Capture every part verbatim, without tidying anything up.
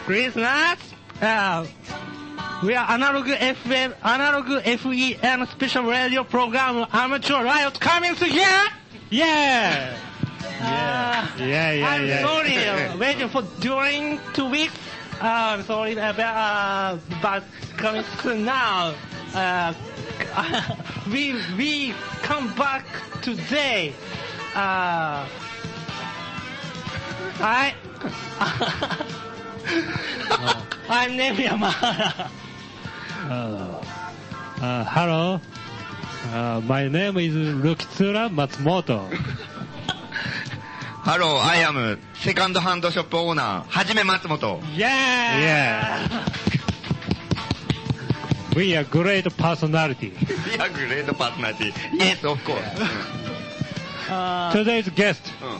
Listeners, uh, we are Analog F M, Analog F E M special radio program Amateur Riot coming to here. Yeah. Uh, yeah, yeah, yeah. I'm yeah. sorry, uh, waiting for during two weeks. Uh, I'm sorry, uh, but, uh, but coming soon now. Uh, we we come back today. Uh, I. I'm named Yamahara. Uh, uh, hello. Uh, my name is Rukitsura Matsumoto. Hello, I am second hand shop owner, Hajime Matsumoto. Yeah! Yeah. We are great personality. We are great personality. Yes, of course. Uh, Today's guest. Mm.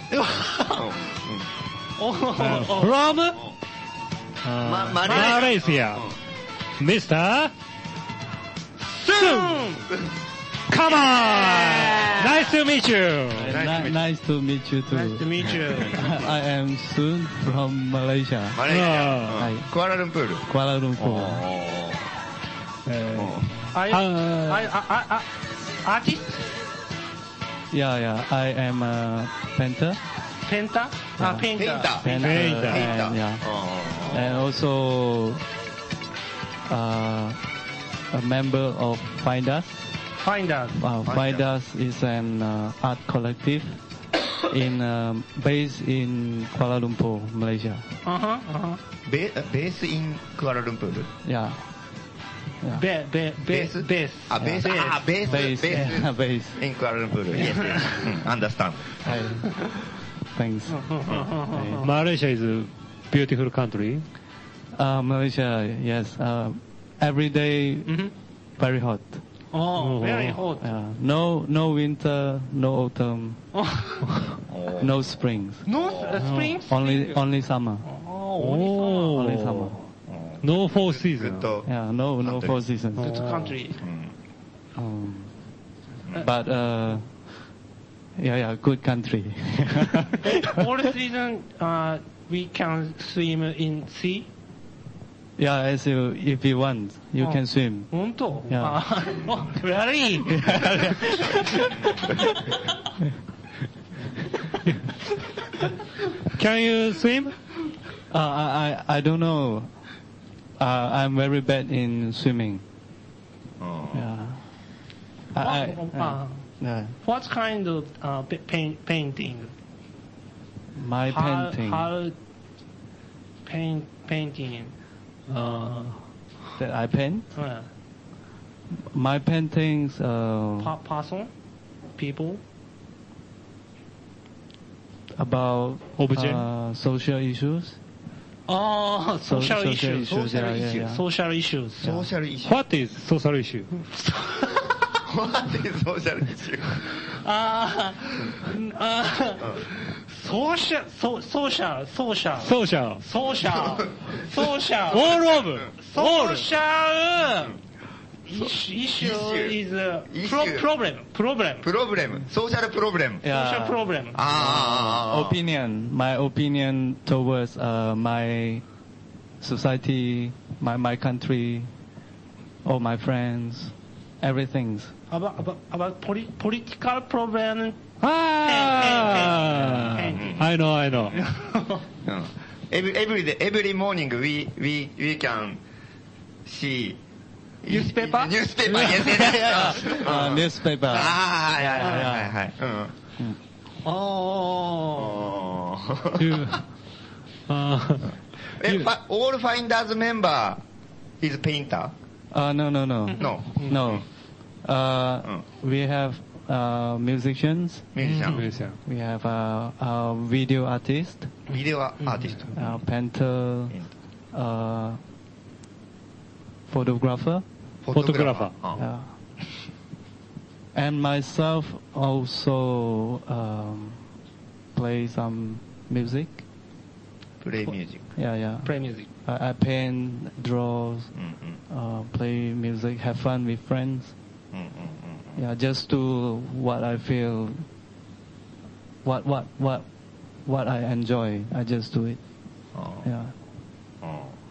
oh, Uh, oh, from uh, Ma- Malaysia. Mister soon! Come on! Nice to meet you. Ni- nice to meet you too. Nice to meet you. I am Sun from Malaysia, マレーシア、 はいうんクアラルンプール。 Kuala Lumpur. Uh, Are you, uh, are, are, are, are artist? Yeah, yeah. I am a painter. Painter? Ah, painter. ペインター。 Painter, Painter. and, yeah. うん and also uh, a member of Findus. Finders. Wow, Findus. Findus is an uh, art collective in um, based in Kuala Lumpur, Malaysia. Uh-huh, uh-huh. ベベースインクアラルンプール。 Yeah. Yeah. Be, be, be, base. あ、ベース、あ、ベース、ベ Base. ース。 Yeah, base. インクアラルンプール。Yes, yes. うん、understand. Hi. Thanks. Malaysia is a beautiful country. Uh, Malaysia, yes. Uh, every day, Mhm. very hot. Oh, very hot. Yeah. No, no winter, no autumn, Oh, no springs. no uh, spring? Only, only summer. Oh, only Only summer. No four グッ seasons. ド。 Yeah, no, no four seasons. summer. Good country. うん Um, but uh, yeah, yeah, good country. All season, uh, we can swim in sea. Yeah, as you, if you want, you Oh. can swim. 本当 Yeah. あoh, very. Can you swim? Uh, I, I, I don't know. Uh, I'm very bad in swimming. うん Yeah. I, I, What, uh, uh, yeah. what kind of uh, pa- paint, painting? My how, painting How paint, painting? Uh, that I paint. uh, My paintings. Uh, pa- person? People? about Objet? uh, social issues. Oh, So- social, social issues. issues, Social yeah, yeah, issues. yeah. Social issues. ソーシャルイシュー。 What is social issue? What is ソーシャルイシュー。 あーあー、ソーシャル、ソソーシャル、ソーシャル、 Social. ソーシャル、ソーシャル、 All of. ソ All. ーシャル、イシュ、イシュ is a Issue. pro- problem, problem, プロブレム。ソーシャルプロブレム。 social problem. あーあーあーあー。 Opinion. My opinion towards uh, my society, my my country, all my friends, everything. About, about, about poli- political problem. Ah, I know, I know. うん Every, every day, every morning we, we, we can see Newspaper? Newspaper, yes, yes, yes. Uh, うん newspaper. ああ、はいはいはいはいはい。うん。 Oh. おー You, uh, え、 you- ファ all finders member is painter? Uh, no, no, no, No. no. Uh, we have uh, musicians. ミュージシャン。 Malaysia. We have a, a video artist, ビデオアーティスト。 a painter, uh, photographer, フォトグラファ Photographer. ー。あ uh, and myself also um, play some music. プレイミュージック。 Yeah, yeah. Play music. I, I paint, draw, うんうん uh, play music, have fun with friends. うんうんうん Yeah, just do what I feel, what what what what I enjoy. I just do it. あー Yeah. あ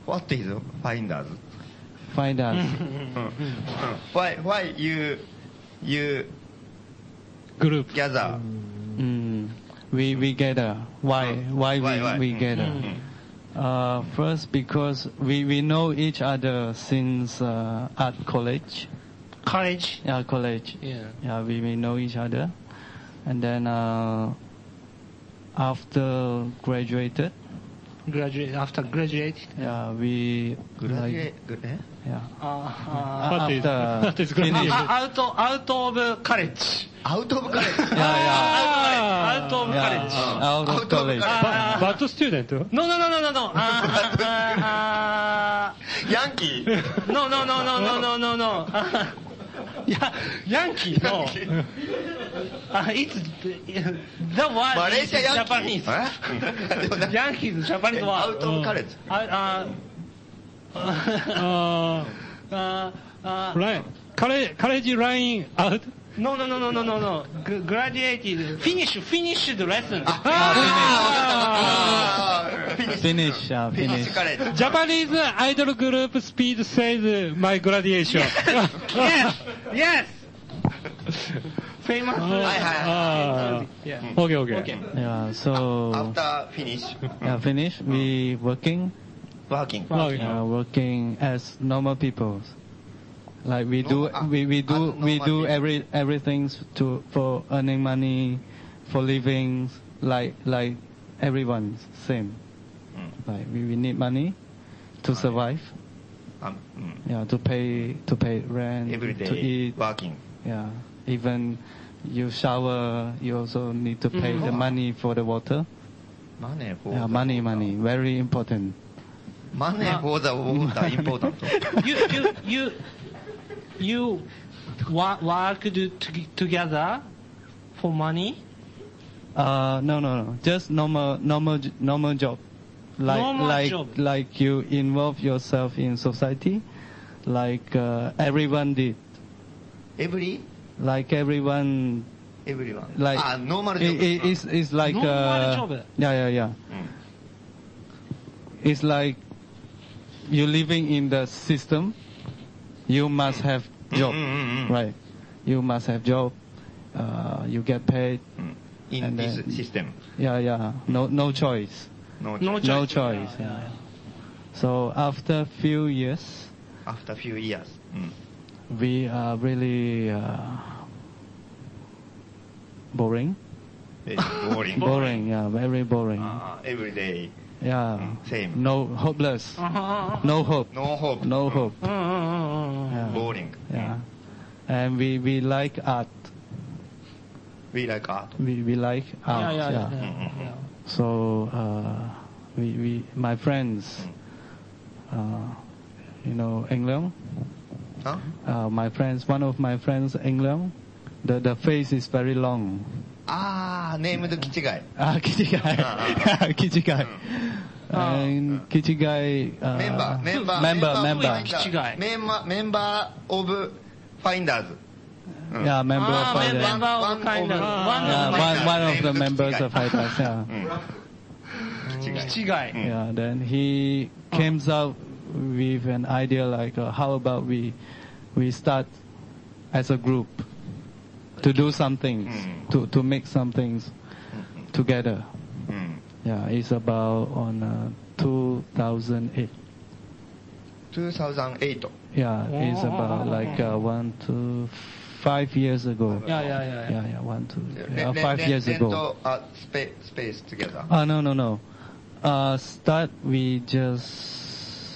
What is finders? Finders. Why why you you Group. gather? Mm, we we gather. Why why we Why, why? we gather? Mm. Uh, first, because we we know each other since uh, at college. College. Yeah, college. Yeah. Yeah, we we know each other, and then uh, after graduated, Graduate after graduate. yeah, we Graduate? like eh? yeah. Uh, uh, What is- after what is finish- graduate? out of out of college. Out of college. Yeah, yeah. Out of Yeah, college. out Out of of college. college. Uh, Bad student? No, no, no, no, no, no. Uh, uh, uh, Yankee. no, no, no, no, no, no, no, no. Uh, yeah, Yankee, no. Uh, it's the word Malaysia is Yankee. Japanese. Eh? Yankee is Japanese word. Out of college. Uh, uh, Uh, uh, uh, right. College, college line out? no, no, no, no, no, no, no. G- graduated, finish, finished the lesson. Ah, finish. Finish, yeah, Finish finish. college. Japanese idol group Speed says my graduation. Yes, yes. Famous. Ah, Yeah. okay, okay. Okay. Yeah, so After finish, yeah, finish. We working, working. Okay. uh, working as normal people. Like we do, No, uh, we, we do, we abnormal do people. every everything to for earning money, for living. Like like everyone same. Mm. Like we, we need money to survive. Um, mm. Yeah, to pay to pay rent, Every to day eat. working. Yeah, even you shower, you also need to pay Mhm. the money for the water. Money for Yeah, the money, water. money, very important. Money Ah. for the water important. You, you, you, you wa- work to, to, together for money. Uh, no, no, no, just normal, normal, j- normal job. Like, Normal like, job. like you involve yourself in society, like uh, everyone did. Every Like everyone, everyone. like ah, normal job. it, it, it's, it's like Normal uh, job. yeah, yeah, yeah. Mm. It's like you living in the system. You must have job, Mm, mm, mm. right? You must have job. Uh, you get paid. Mm. In And this then- system. Yeah, yeah. No, no choice. No, No choice. No choice. choice. Yeah. So after few years, After few years. Mm. we are really uh, boring. Very boring. Boring. Yeah, very boring. Ah, every day. Yeah. Mm, same. No, hopeless. Uh-huh. No hope. No hope. No hope. Uh-huh. Yeah. Boring. Yeah. And we we like art. We like art. We we like Yeah, art. yeah, yeah. Mm, mm, yeah. So uh, we we my friends, uh, you know, England. Huh? Uh, my friends, one of my friends, England. The the face is very long. Ah, named Kichigai. Ah, Kichigai. Ah, Kichigai. Ah. And Kichigai. Uh, member, member, member, of member. Finders. Kichigai. Member, member of Finders. Mm. Yeah, member Ah, of Fighters. member of One kind of- of- one Yeah, of one, one of Named the members Kichigai. of Fighters. Yeah. Mm. Kichigai. Kichigai. Mm. Yeah. Then he came out with an idea like, uh, how about we we start as a group to do some things, Mm. to to make some things together. Mm. Yeah, it's about on uh, two thousand eight. two thousand eight. Yeah, it's about like uh, one to five years ago. Yeah, yeah, yeah. yeah. Yeah, yeah, one to Then- yeah, then- five then- years then ago. to, uh, spa- space together. Oh no no no. Uh, start we just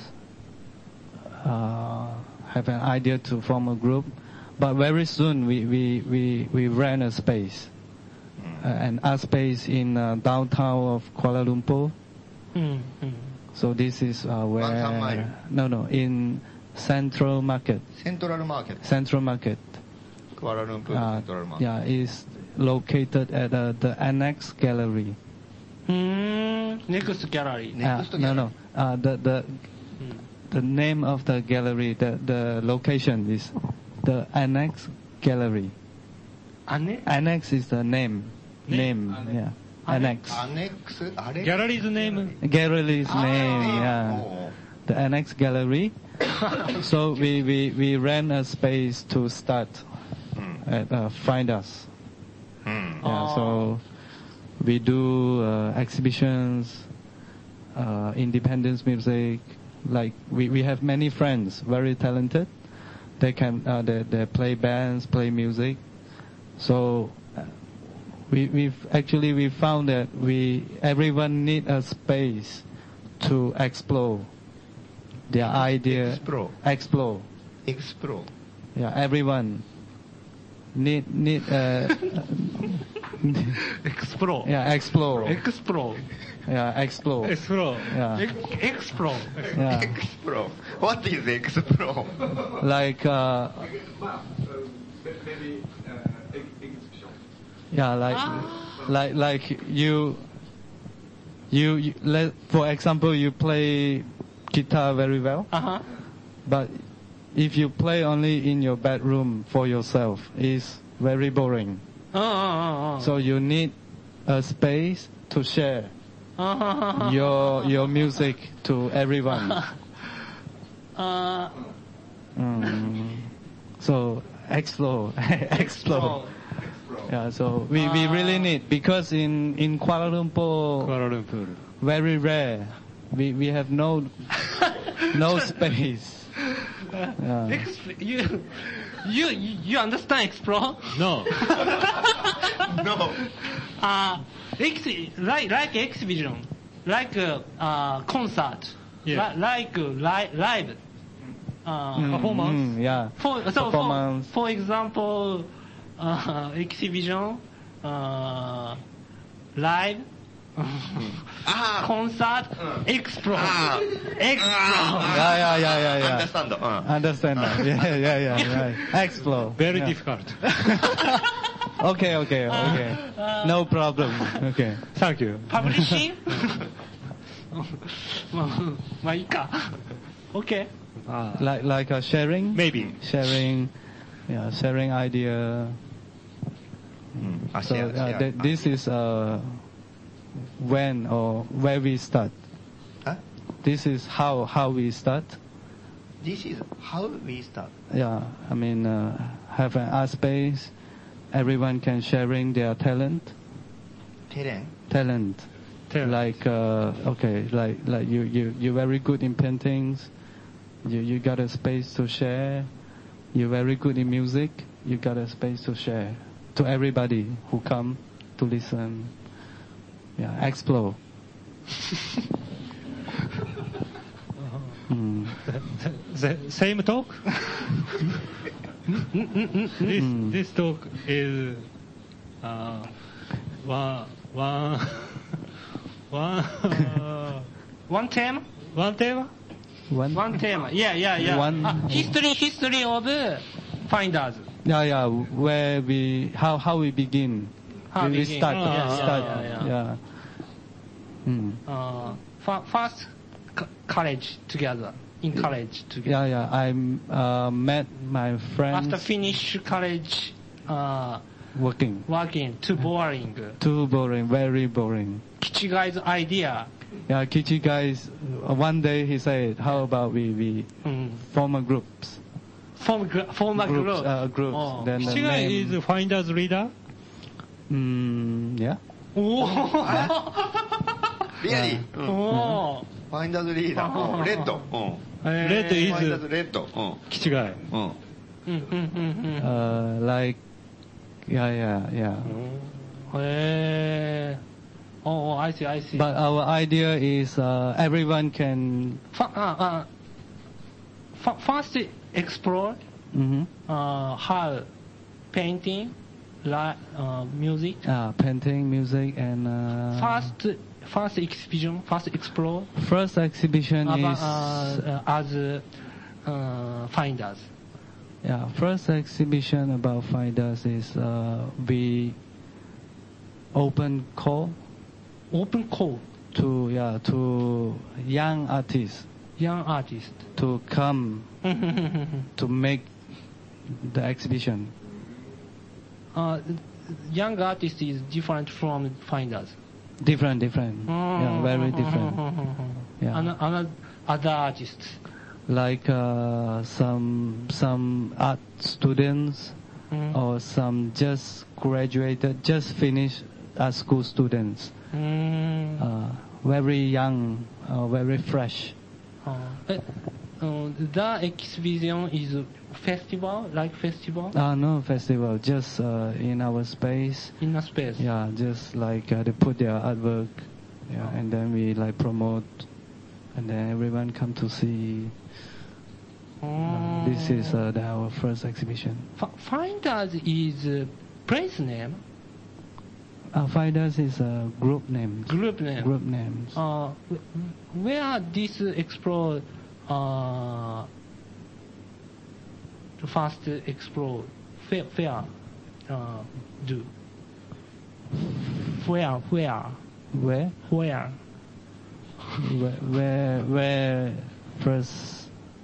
uh, have an idea to form a group, but very soon we we we, we ran a space, uh, an art space in uh, downtown of Kuala Lumpur. Mm, mm. So this is uh, where Downtown Mall. no no in Central Market. Central Market. Central Market. Kuala Lumpur Uh, Central Market. yeah, is located at uh, the Annex Gallery. Hmm. Next gallery. Next Uh, no, no. Uh, the the Mm. the name of the gallery, the the location is the Annex Gallery. Anne? Annex is the name. Name? Name. Yeah. Annex. Annex. あれ Gallery's name? Gallery's name. Yeah. も the annex gallery. So we, we, we rent a space to start at uh, Find Us. Mm. Yeah, so we do uh, exhibitions, uh, independence music. Like we, we have many friends, very talented. They can uh, they, they play bands, play music. So uh, we we've actually we found that we everyone need a space to explore their idea. Explore. Explore. Explore. Yeah, everyone need need uh, explore. yeah explore. Explore. Yeah, explore. explore. Yeah, Ex- explore. yeah. Explore. What is explore? Like uh, Maybe uh, exhibition. yeah, like like like you you, you let for example you play guitar very well, Uh huh. but if you play only in your bedroom for yourself, it's very boring. Uh, uh, uh, uh. So you need a space to share uh, your your music to everyone. uh, Mm. So explore, explore. explore. Yeah. So we, we really need because in in Kuala Lumpur Kuala Lumpur. very rare. We we have no no space. Yeah. Exp- you, you, you understand explore? No. No. Uh, ex- like, like exhibition, like uh, uh, concert, Yeah. li- like uh, li- live uh, Mm, performance. mm, yeah. For, so Performance. For, for example, uh, exhibition, uh, live, Ah. concert, explore, Ah. explore. Yeah, yeah, yeah, yeah, yeah. Understand. Uh. Understand that. Yeah, yeah, yeah, right. Explore. Very Yeah. difficult. Okay, okay, okay. No problem. Okay. Thank you. Publishing? まあ、まあいいか。OK? Ah, Like like uh, sharing. maybe. Sharing. Yeah, sharing idea. うん。あ、 So シェア、シ uh, ェ th- this is uh, when or where we start. ア。あ This is how how we start. This is how we start. Yeah, I mean uh, have an art space. Everyone can sharing their talent. テレン Talent. Talent. Like uh, okay, like like you you you're very good in paintings. You you got a space to share. You're very good in music. You got a space to share to everybody who come to listen. Yeah, explore. Mm. The same talk? this, Mm. this talk is uh, one, one, one, uh, One theme? one tema? One. One theme. Yeah, yeah, yeah. One- Ah, history, history of Finders. Yeah, yeah. Where we how how we begin. How we, we begin. start. Yeah, yeah, start. yeah, yeah. yeah. Mm. Uh, fa- first co- college together. In college together. Yeah, yeah. I uh, met my friends After finish college, uh, working. working, too boring. Too boring, very boring. Kichi guy's idea. Yeah, Kichi guys. uh, One day he said, "How about we we Mm. form a groups, Form, gr- form a groups, group. uh, groups." Oh. Then the Shiga name. is Finder's leader? Mm, yeah. Oh. リアリー。うん。 Oh. ファインダーズリーダー。うんレッド。うん。 Red ファインダー is ズレッド。うん。 Kichigai. うん。 Mm, mm, mm, mm. Uh, like, yeah, yeah, yeah. Eh. Oh, oh, I see, I see. But our idea is uh, everyone can. Fa- uh, uh, fa- first explore Mhm. uh, how painting, li- uh, music. Uh, painting, music, and uh, First, first exhibition, first explore first exhibition about, is uh, uh, as uh, finders. yeah. First exhibition about finders is uh, we open call Open call, to yeah to young artists young artist. to come to make the exhibition. uh, young artist is different from finders. Different, different. Yeah, very different. Yeah. Ano- ano- other artists? Like uh, some some art students Mm. or some just graduated, just finished art school students. Mm. Uh, very young, uh, very fresh. Uh, eh, uh, the exhibition is a festival, like festival Uh, no festival, just uh, in our space. in a space. Yeah, just like uh, they put their artwork, yeah, and then we like promote, and then everyone come to see. Uh, this is uh, the, our first exhibition. F- Finders is a place name, Uh, Finders is a group name. group name. Group names. Uh, wh- where this explore, uh, the first explore fair, fair uh, do. Where, where, Where? where? Where? Where? Where first?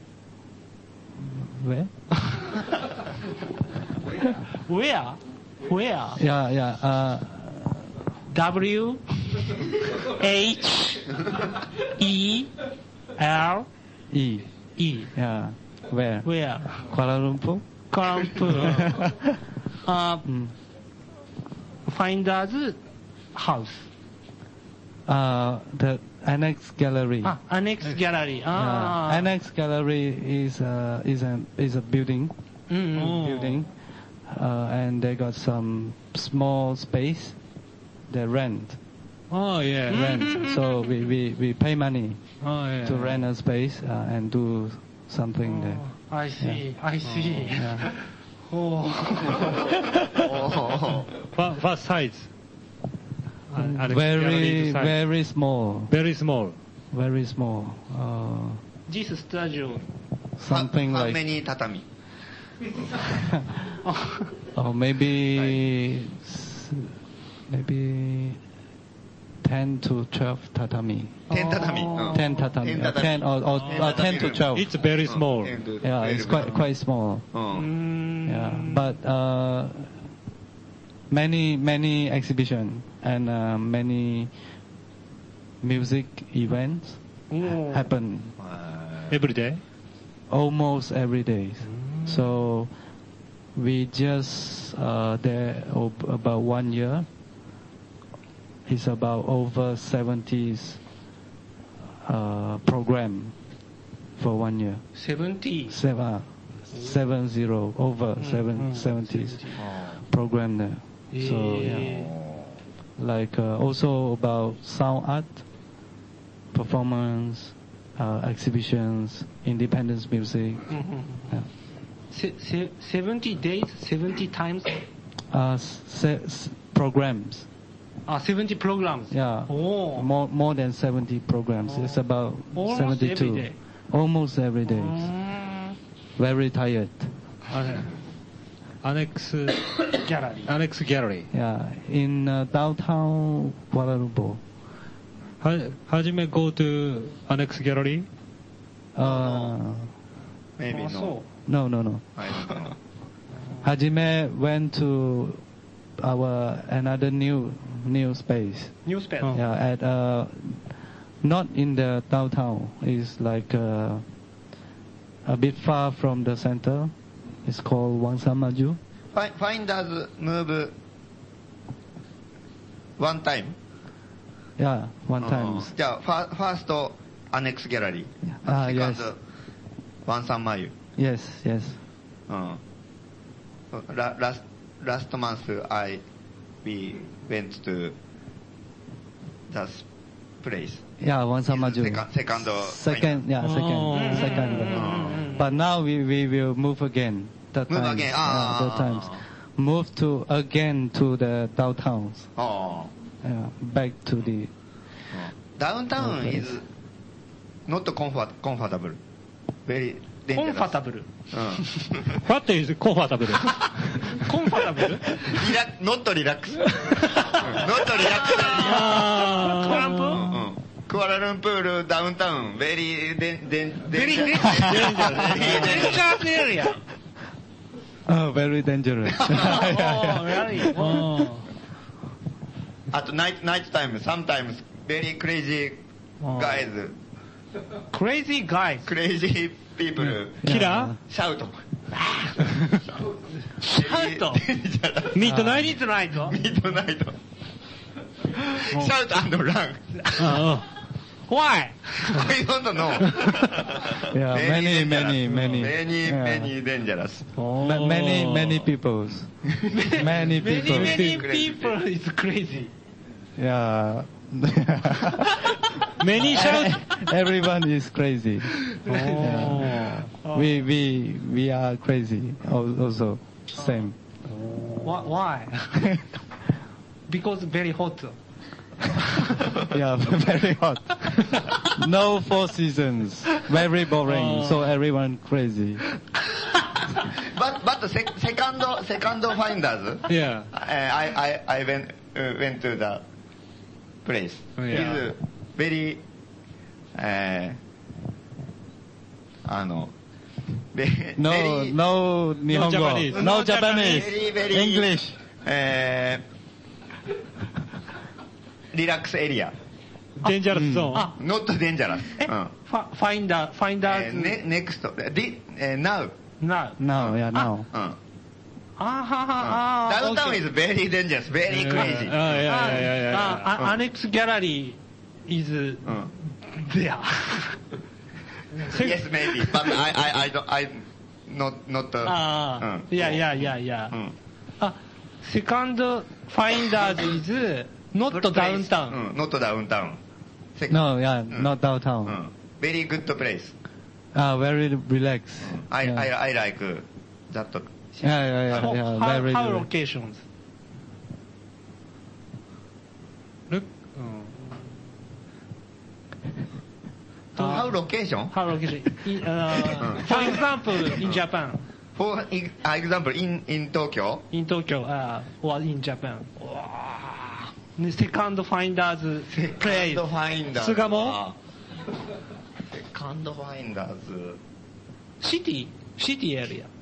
Where? Where? Where? Yeah, yeah. Uh, W H E L E. E. Yeah. Where? Where? Kuala Lumpur. Kuala Lumpur. uh, Mm. Finders house. Uh, the Annex Gallery. Ah, Annex Gallery. Ah. Yeah. Annex Gallery is a is a is a building. Mm. building, uh, and they got some small space. They rent, Oh, yeah. rent. So we, we, we pay money Oh, yeah. to rent a space uh, and do something there. Oh, I see. I see. Yeah. Oh. What, what size? An- Annex Very gallery size. very small, Very small. very small. Uh, This studio. something how, how like many tatami? or maybe s- maybe ten to twelve tatami. ten tatami. Oh. uh, Ten tatami. ten uh, tatami. ten or, or Ten uh, ten to tatami twelve. It's very uh, small. ten to Yeah, it's twelve. quite quite small. Uh, Mm. Yeah, but uh, many many exhibition and uh, many music events Oh. happen uh, Every day? almost every day. So we just uh, there o- about one year. It's about over seventy uh, program for one year. seventy. Seven, seven zero over seven seventies program there. So yeah, like uh, also about sound art, performance, uh, exhibitions, independence music. Mhm. Yeah. Se- se- seventy days, seventy times, Uh, se- s- programs. uh, seventy programs. Yeah. Oh. More more than seventy programs. It's about Almost seventy-two. every day. Almost every day. Mm. Very tired. Okay. Annex, Gallery. Annex Gallery. Yeah. In uh, downtown Kuala Lumpur. Ha, Hajime go to Annex Gallery? Uh, maybe Also. no. no, no, no. I don't know. Hajime went to our another new new space. Newspaper. Oh. Yeah, at uh, not in the downtown. It's like uh, a bit far from the center. It's called Wangsan Maju. Fi- Finders move one time. Yeah, one time. うんじゃあファファーストアネックスギャラリー、 あセカン yes ドワンサンマユ、 Yes, yes. うん、ララスラストマンス I we went to the place. Yeah, Wangsan Maju. Second, second, Second, yeah, second, Oh. second. Mm. But now we, we will move again. That Move times. again. Yeah, Ah. that times. Move to again to the downtown. あ Yeah, back to the. あダウンタウン is not comfort, comfortable. Very コン dangerous. ファタブル。 うん What is comfortable? コンファタブルリラノットリラックス。ノットリラックス。 トランプうんクアラルンプールダウンタウン、ベリーデンデンベリーデンデンジャースエリア。 Oh, very dangerous. Oh, really? Oh. あとナイトナイトタイム、sometimes very crazy guys crazy guys. crazy people Killer? shout. Shout. Midnight? Midnight. midnight. shout and run. Oh. Why? I don't know. Yeah, many, many, many. Many, Yeah. many dangerous. Ma- Many, many peoples. Many Many, people. many Crazy. people is crazy. Yeah. Many shout? Everyone is crazy. Oh. Yeah. We, we, we are crazy al- also. Same. Why? Why? Because very hot. Yeah, very hot. No four seasons. Very boring. Oh. So everyone crazy. But but sec- second second finders. Yeah. Uh, I I I went uh, went to the place. Oh, yeah. It's very えー、あの、べ No, very- no 日本語。 Japanese. No Japanese. very very English. えー、リラックスエリア。 デンジャラスゾーン。 あ not dangerous。 え、 うん。 ファファインダー、ファインダーズ、 えー、ね、next、di- えー、now。 な、 Now, yeah, now. うん。 あはは、あダウンタウン is very dangerous, very あ crazy. いやいやいやいや。 あ、アネックスギャラリー is うん。 there. Yes, maybe, but I, I, I don't, I, not, not, uh, ああ、いやいやいやいやう。ん。 あ、セカンドファインダーズ is not downtown. うん、not downtown. Sec- No, yeah, うん not う downtown. ん。very good place. Ah, very relaxed. I, yeah. I, I like that. Yeah, yeah, yeah, How, yeah, how, very how relaxed. locations? Look. So how location? How location? In, uh, for example, in Japan, For e- example, in, in Tokyo, in Tokyo, uh, or in Japan. わーセカンドファインダーズプレイ Second Finders 巣鴨セカンドファインダーズシティシティエリア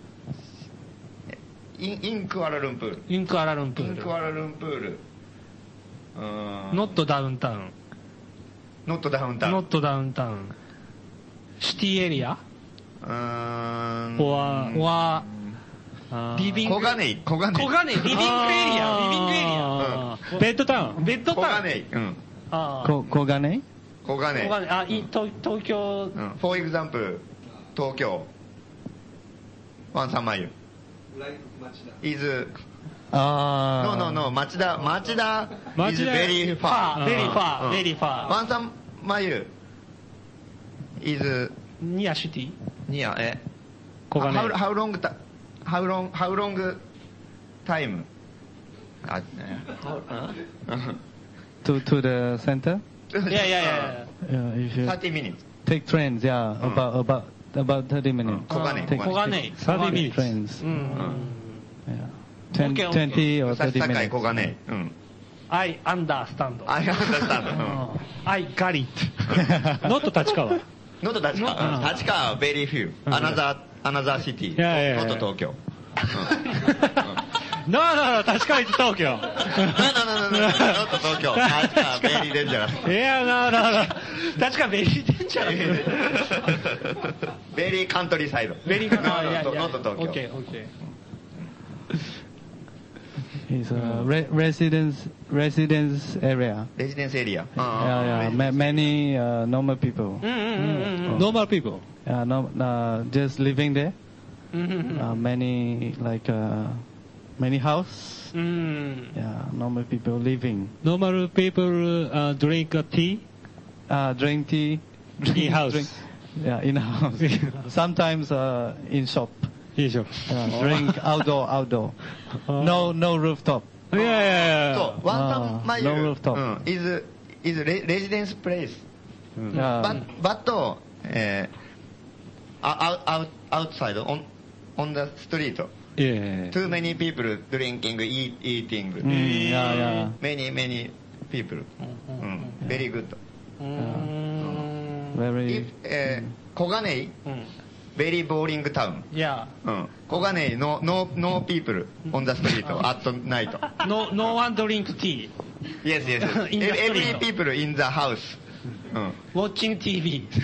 in, in クアラルンプール。 インクアラルンプ in ークアラルンプール。うーん。 ルノットダウンタウン not downtown。 ノットダウンタウンシティエリアうーん。 ははリビング小金井、小金井。 小金井リビングエリアリビングエリアあーベッドタウン。 ベッド小タウン金井。うん。 あーこ小金井小金井。 小金井あい東東京うん。for example、東京。ワンサンマイル。 like Machida. is, Ah. no, no, no, 町田、町田 is 町田 very ファ far. ーベリーファうんーベリーファワンサンマイル is ーニアシティ near, え小金井 how, how long, ta- how long, how long time? あ、ね To to the center? いやいやいや Yeah, if you thirty minutes. take trains, yeah, Mm. about about about thirty minutes. 小金井 Take- 小金井 thirty minutes. trains. うんうん Yeah. Ten, Okay, okay. twenty or さ thirty 堺 minutes. 小金井。うん。 I understand I understand. うん I got it ノット立川。 not 立川。立川 very few. Another, another city. いやいやいや not 東京。 ノーノーノー、立川一東京。 no, no, no, no, no, not 東京。立川 very dangerous. いや、ノーノーノー。 確かベリーデンジャー very countryside. ベリー no, あいやい no, や not 東京。 OK OK It's a re- residence residence area. レジデンスエリア。 Yeah, yeah. Ma- many uh, normal people. うんうんうんうん Normal people. Yeah, no, uh, just living there. うんうん Uh, many like uh, many house. うん Yeah, normal people living. Normal people uh, drink a tea. Uh, drink tea. In house. Drink, yeah, in house. Sometimes uh, in shop. いいでしょ。 Yeah, drink outdoor, outdoor. No, no rooftop. いやいやいや。 そう、ワンサンマイル。 No rooftop. うん。is, is re- residence place. Yeah. But, but, えー、out, out, outside, on, on the street. いやいやいや。 Too many people drinking, eat, eating. Mm, yeah, yeah. Many, many people. うん。very good. うん Very. If, えー、小金井うん very boring town. いやうん。小金井 no, no, no people on the street at night. No no one drink tea Yes, yes. In the Every street. people in the house. うん。 watching ティーブイ。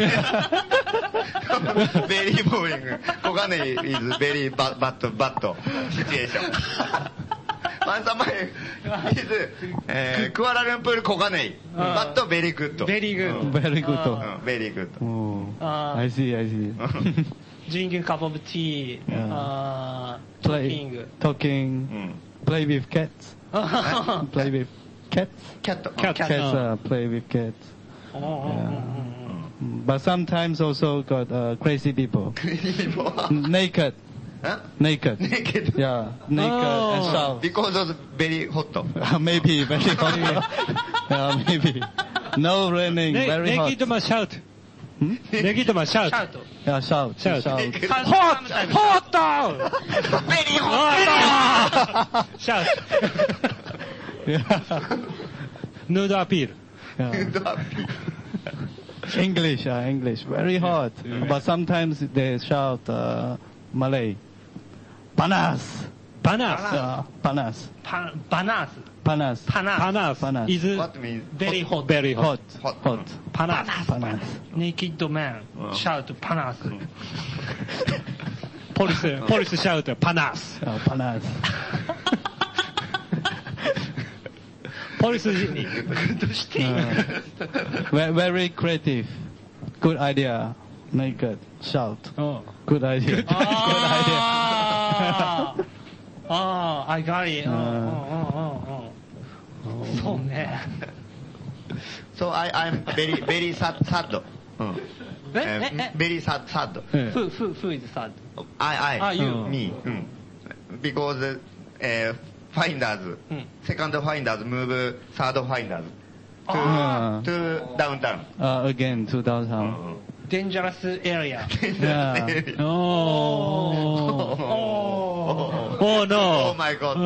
very boring. Kogane is very bad, bad, bad situation. Once a month is uh, Kuala Lumpur Kogane, but very good. Very good. Very good. Uh, very good. Oh, Uh, I see, I see. drinking a cup of tea, Yeah. uh, Play, talking. talking, Mm. play with cats. Play with cats. Cat. Cat. Cats uh, play with cats. Oh, oh, oh, But sometimes also got uh, crazy people. People. Naked. Huh? Naked. Naked. Yeah, naked Oh. and shout. Because of very hot. Maybe very hot. Yeah, maybe. No raining, Ne- very hot. Negito must shout. Hmm? Negito must shout. shout. Yeah, shout. Shout. shout. Hot! Hot! Very hot. Shout. Yeah. Nude appeal. Yeah. English, uh, English, very hot. But sometimes they shout uh, Malay. Panas. Panas. Yeah, panas. Pa- Panas. Panas. Panas. Panas Panas. is What means? Very hot. very hot. Hot. Hot. Hot. Panas. Panas. Naked man. Oh. Shout Panas. Police, police shout panas. Yeah, panas. Police. Uh, ve- very creative. Good idea. Naked. Shout. Oh. Good idea. Good idea. Ah, ah, I got it. う Oh, ん oh, oh, oh, oh. そうね。 So I, I'm very, very sad, sad. うんえ Uh, ええ very sad, sad. ええ Who, who, who is sad? I, I, Ah, you. me. うん Because uh, finders, うん second finders move third finders to, Ah. to downtown. Uh, again, two thousand. Dangerous area. Yeah. Oh. Oh. Oh no. Oh my god.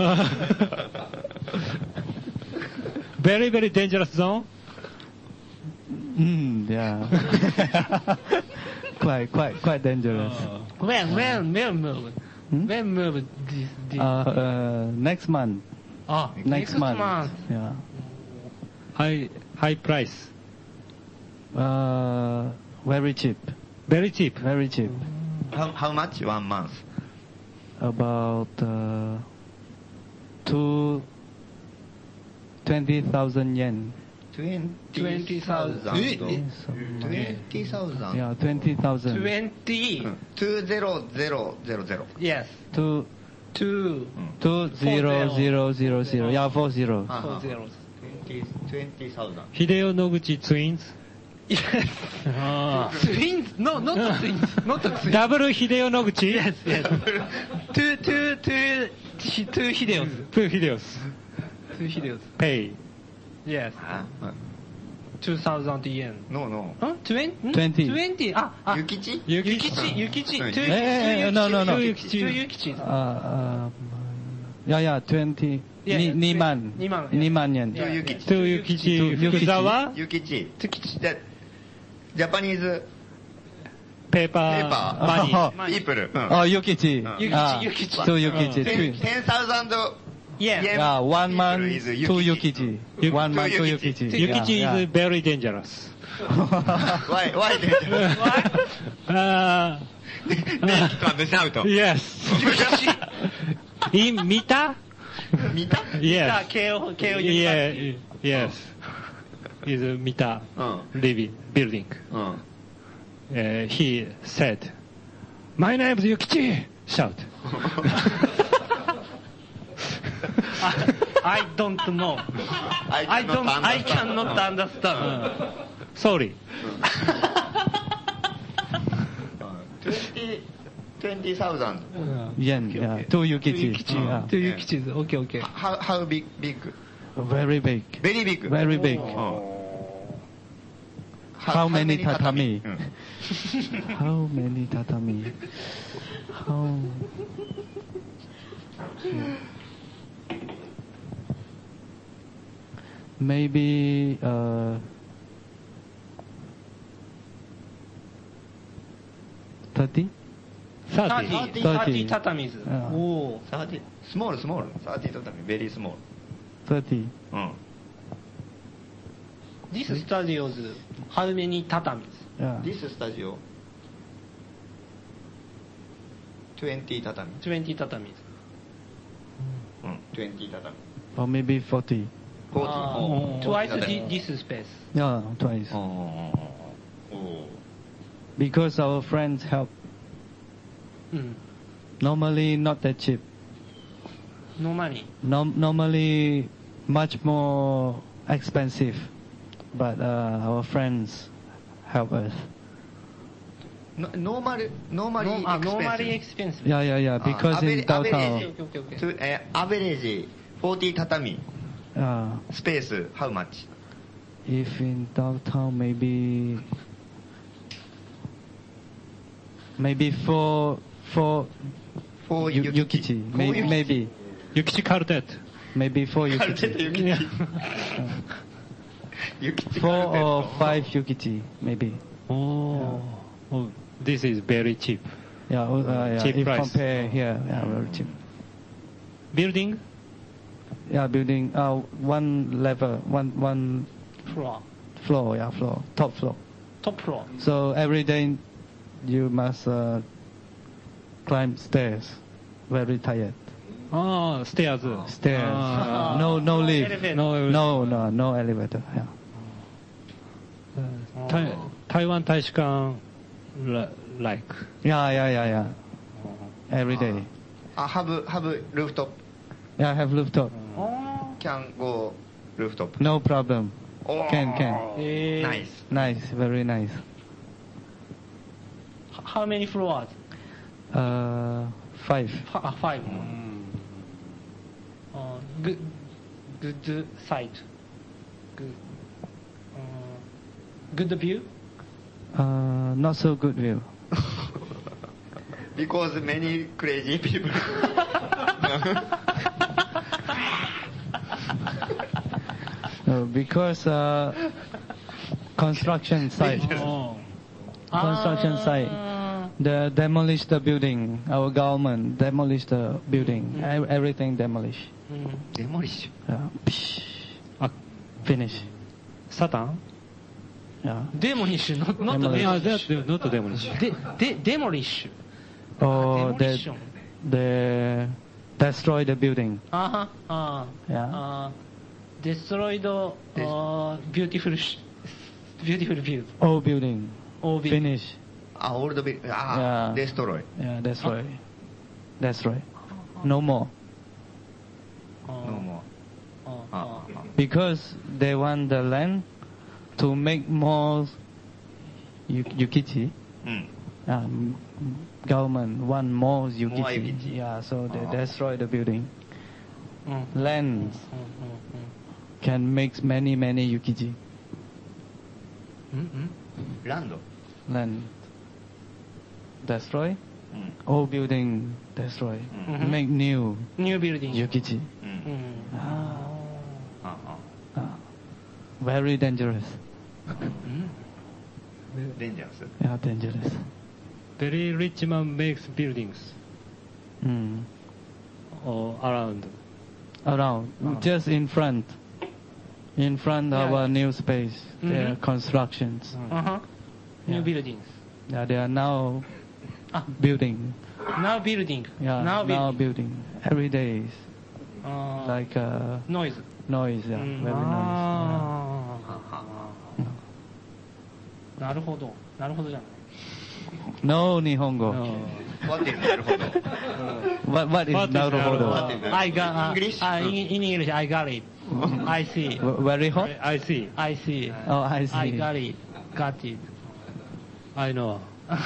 Very, very dangerous zone. Mm, yeah. quite, quite, quite dangerous. When, when, when move? Hmm? When move this, this? Uh, uh, next month. ah, Next, month. Yeah. High, high price. Uh, very cheap. Very cheap. Very cheap. How, how much? One month. About uh, two twenty thousand yen. twenty thousand. twenty thousand. Yeah, twenty thousand. twenty. two zero zero zero zero. Yes. Two Two. two zero zero zero zero. Yeah, four zero. Four zeros. twenty thousand. Hideo Noguchi twins. Yes. Ah. Twins? No, not the twins. Not the twins. Double Hideo Noguchi. Yes, yes. two, two, two, two, two Hideos. Two Hideos. Two Hideos. Pay. Yes. Huh? two thousand yen. No, no. Huh? twenty? Twenty. twenty. Ah, ah. Yukichi? Yukichi. Yukichi. Mm. Two Eh, eh, eh, no, no, no. Two Yukichi. Two Yukichis. Uh, uh, yeah, yeah, twenty. Yeah, Ni- yeah, Niman. Niman, yeah. Niman yen. Two Yukichi. Two Yukichi. Two Yukichi. Fukuzawa. Yukichi. The Japanese Paper. Paper. Money. Oh, people. oh, Yukichi. Yukichi, Ah, Yukichi. Two Yukichi. Ten Two. ten thousand Yeah. yen. Yeah, one people man, is two Yukichi. Yuki- One man, two two Yukichi. Yukichi. Yukichi Yeah, is very dangerous. Why? Why dangerous? Uh, Naked shout. yes. In Mita? 見た Yes. K O, K O Yeah, University. yes. Is Mita うん。 living building. うん。 Uh, he said, "My name is Yukichi." Shout. I, I don't know. I cannot don't. I understand. cannot understand. Sorry. twenty twenty thousand. Yen, yeah. Two Yukichi. Yukichi. Yeah. Two Yukichis. Okay, okay. How how big big? Very big. Very big. Very big. うん How many tatami? うん How many tatami? How? Maybe uh, thirty. Thirty. Thirty. Thirty. Thirty tatamis. Yeah. Oh. thirty small small thirty tatami very small. Thirty. うん。 This studios, how many tatamis? Yeah. This studio, twenty tatami. twenty tatamis. Mm, twenty tatami. Or maybe forty. forty. Ah, Oh, twice forty thi- this space. Yeah, twice. Oh. Oh. Because our friends help. Mm. Normally not that cheap. No money. Norm- normally much more expensive. But uh, our friends help us. No, normal, normally No, ah, expensive. normally expensive. Yeah, yeah, yeah. Because Ah, in average- downtown, average. Okay, okay, okay. To, uh, average forty tatami uh, space, how much? if in downtown maybe maybe four four For yu- Yukichi. yukichi, For maybe Yukichi. maybe Yukichi Cardet. maybe four Cardet yukichi, Yukichi. Yukichi four Cardet. or five yukichi, maybe. Oh, oh, this is very cheap. Yeah, uh, yeah. Cheap if price. compare here, yeah, very cheap. Building? Yeah, building uh one level, one one Floor. floor, yeah, floor, top floor. Top floor. So every day you must uh, climb stairs. Very tired. Ah, stairs. Stairs. Ah. no, no lift. elevator. No, No, no, no elevator. Yeah. Tai- Taiwan 大使館 li- like. Yeah, yeah, yeah, yeah. Every day. Ah, have, have rooftop. Yeah, I have rooftop. Oh. Can go rooftop. No problem. Oh. Can, can. Eh, Nice. Nice, very nice. h- How many floors? Uh, five. F- uh, five. Uh, good, good site. Good. Uh, good view. Uh, not so good view. Because many crazy people. No, because uh, construction site. Oh. Construction site. Ah. The demolish the building. Our government demolish the building. E- Everything demolish. Mm. Demolish. Yeah. Psh. Ah, Finish. Satan? Yeah. Demolish, not, not Demolish. Yeah, demolish. that, not demolish. De, de, demolish. Or they, Demolition. they destroy the building. Uh-huh. Uh, Yeah. uh, destroyed uh, beautiful, sh- beautiful view. All building. All building. Finish. Ah, all the big. Ah, Yeah. destroy. Yeah, destroy. Destroy. No more. Uh, No more. uh, Ah, uh, ah, Because they want the land to make more yu- yukichi. Mm. Um, government want more yukichi. More yukichi. Yeah, so they Ah. destroy the building. mm, Land mm, mm, can make many many yukichi. mm, mm, mm. Land. Land destroy. Mm. All building destroy. Mhm. Make new New building. yukichi. Mm. Mm. Ah, ah. Ah. Very dangerous. Mm. Dangerous. Yeah, dangerous. Very rich man makes buildings Mm. all around. Around, Ah. just in front. In front of Yeah. our new space, there are Mhm. constructions. Uh-huh. New Yeah. buildings. Yeah, they are now Ah. building. Now building. Yeah, now now building. building. Every day is Uh, like uh, noise. noise. Yeah, Mm. very noise. あーなるほど。なるほどじゃない。 No Nihongo. What is なるほど What what is What is naruhodo? What is I got, uh, English? uh, in, in English, I got it. I see. W- Very hot. I see. I see. Oh, I see. I got it. Got it. I know.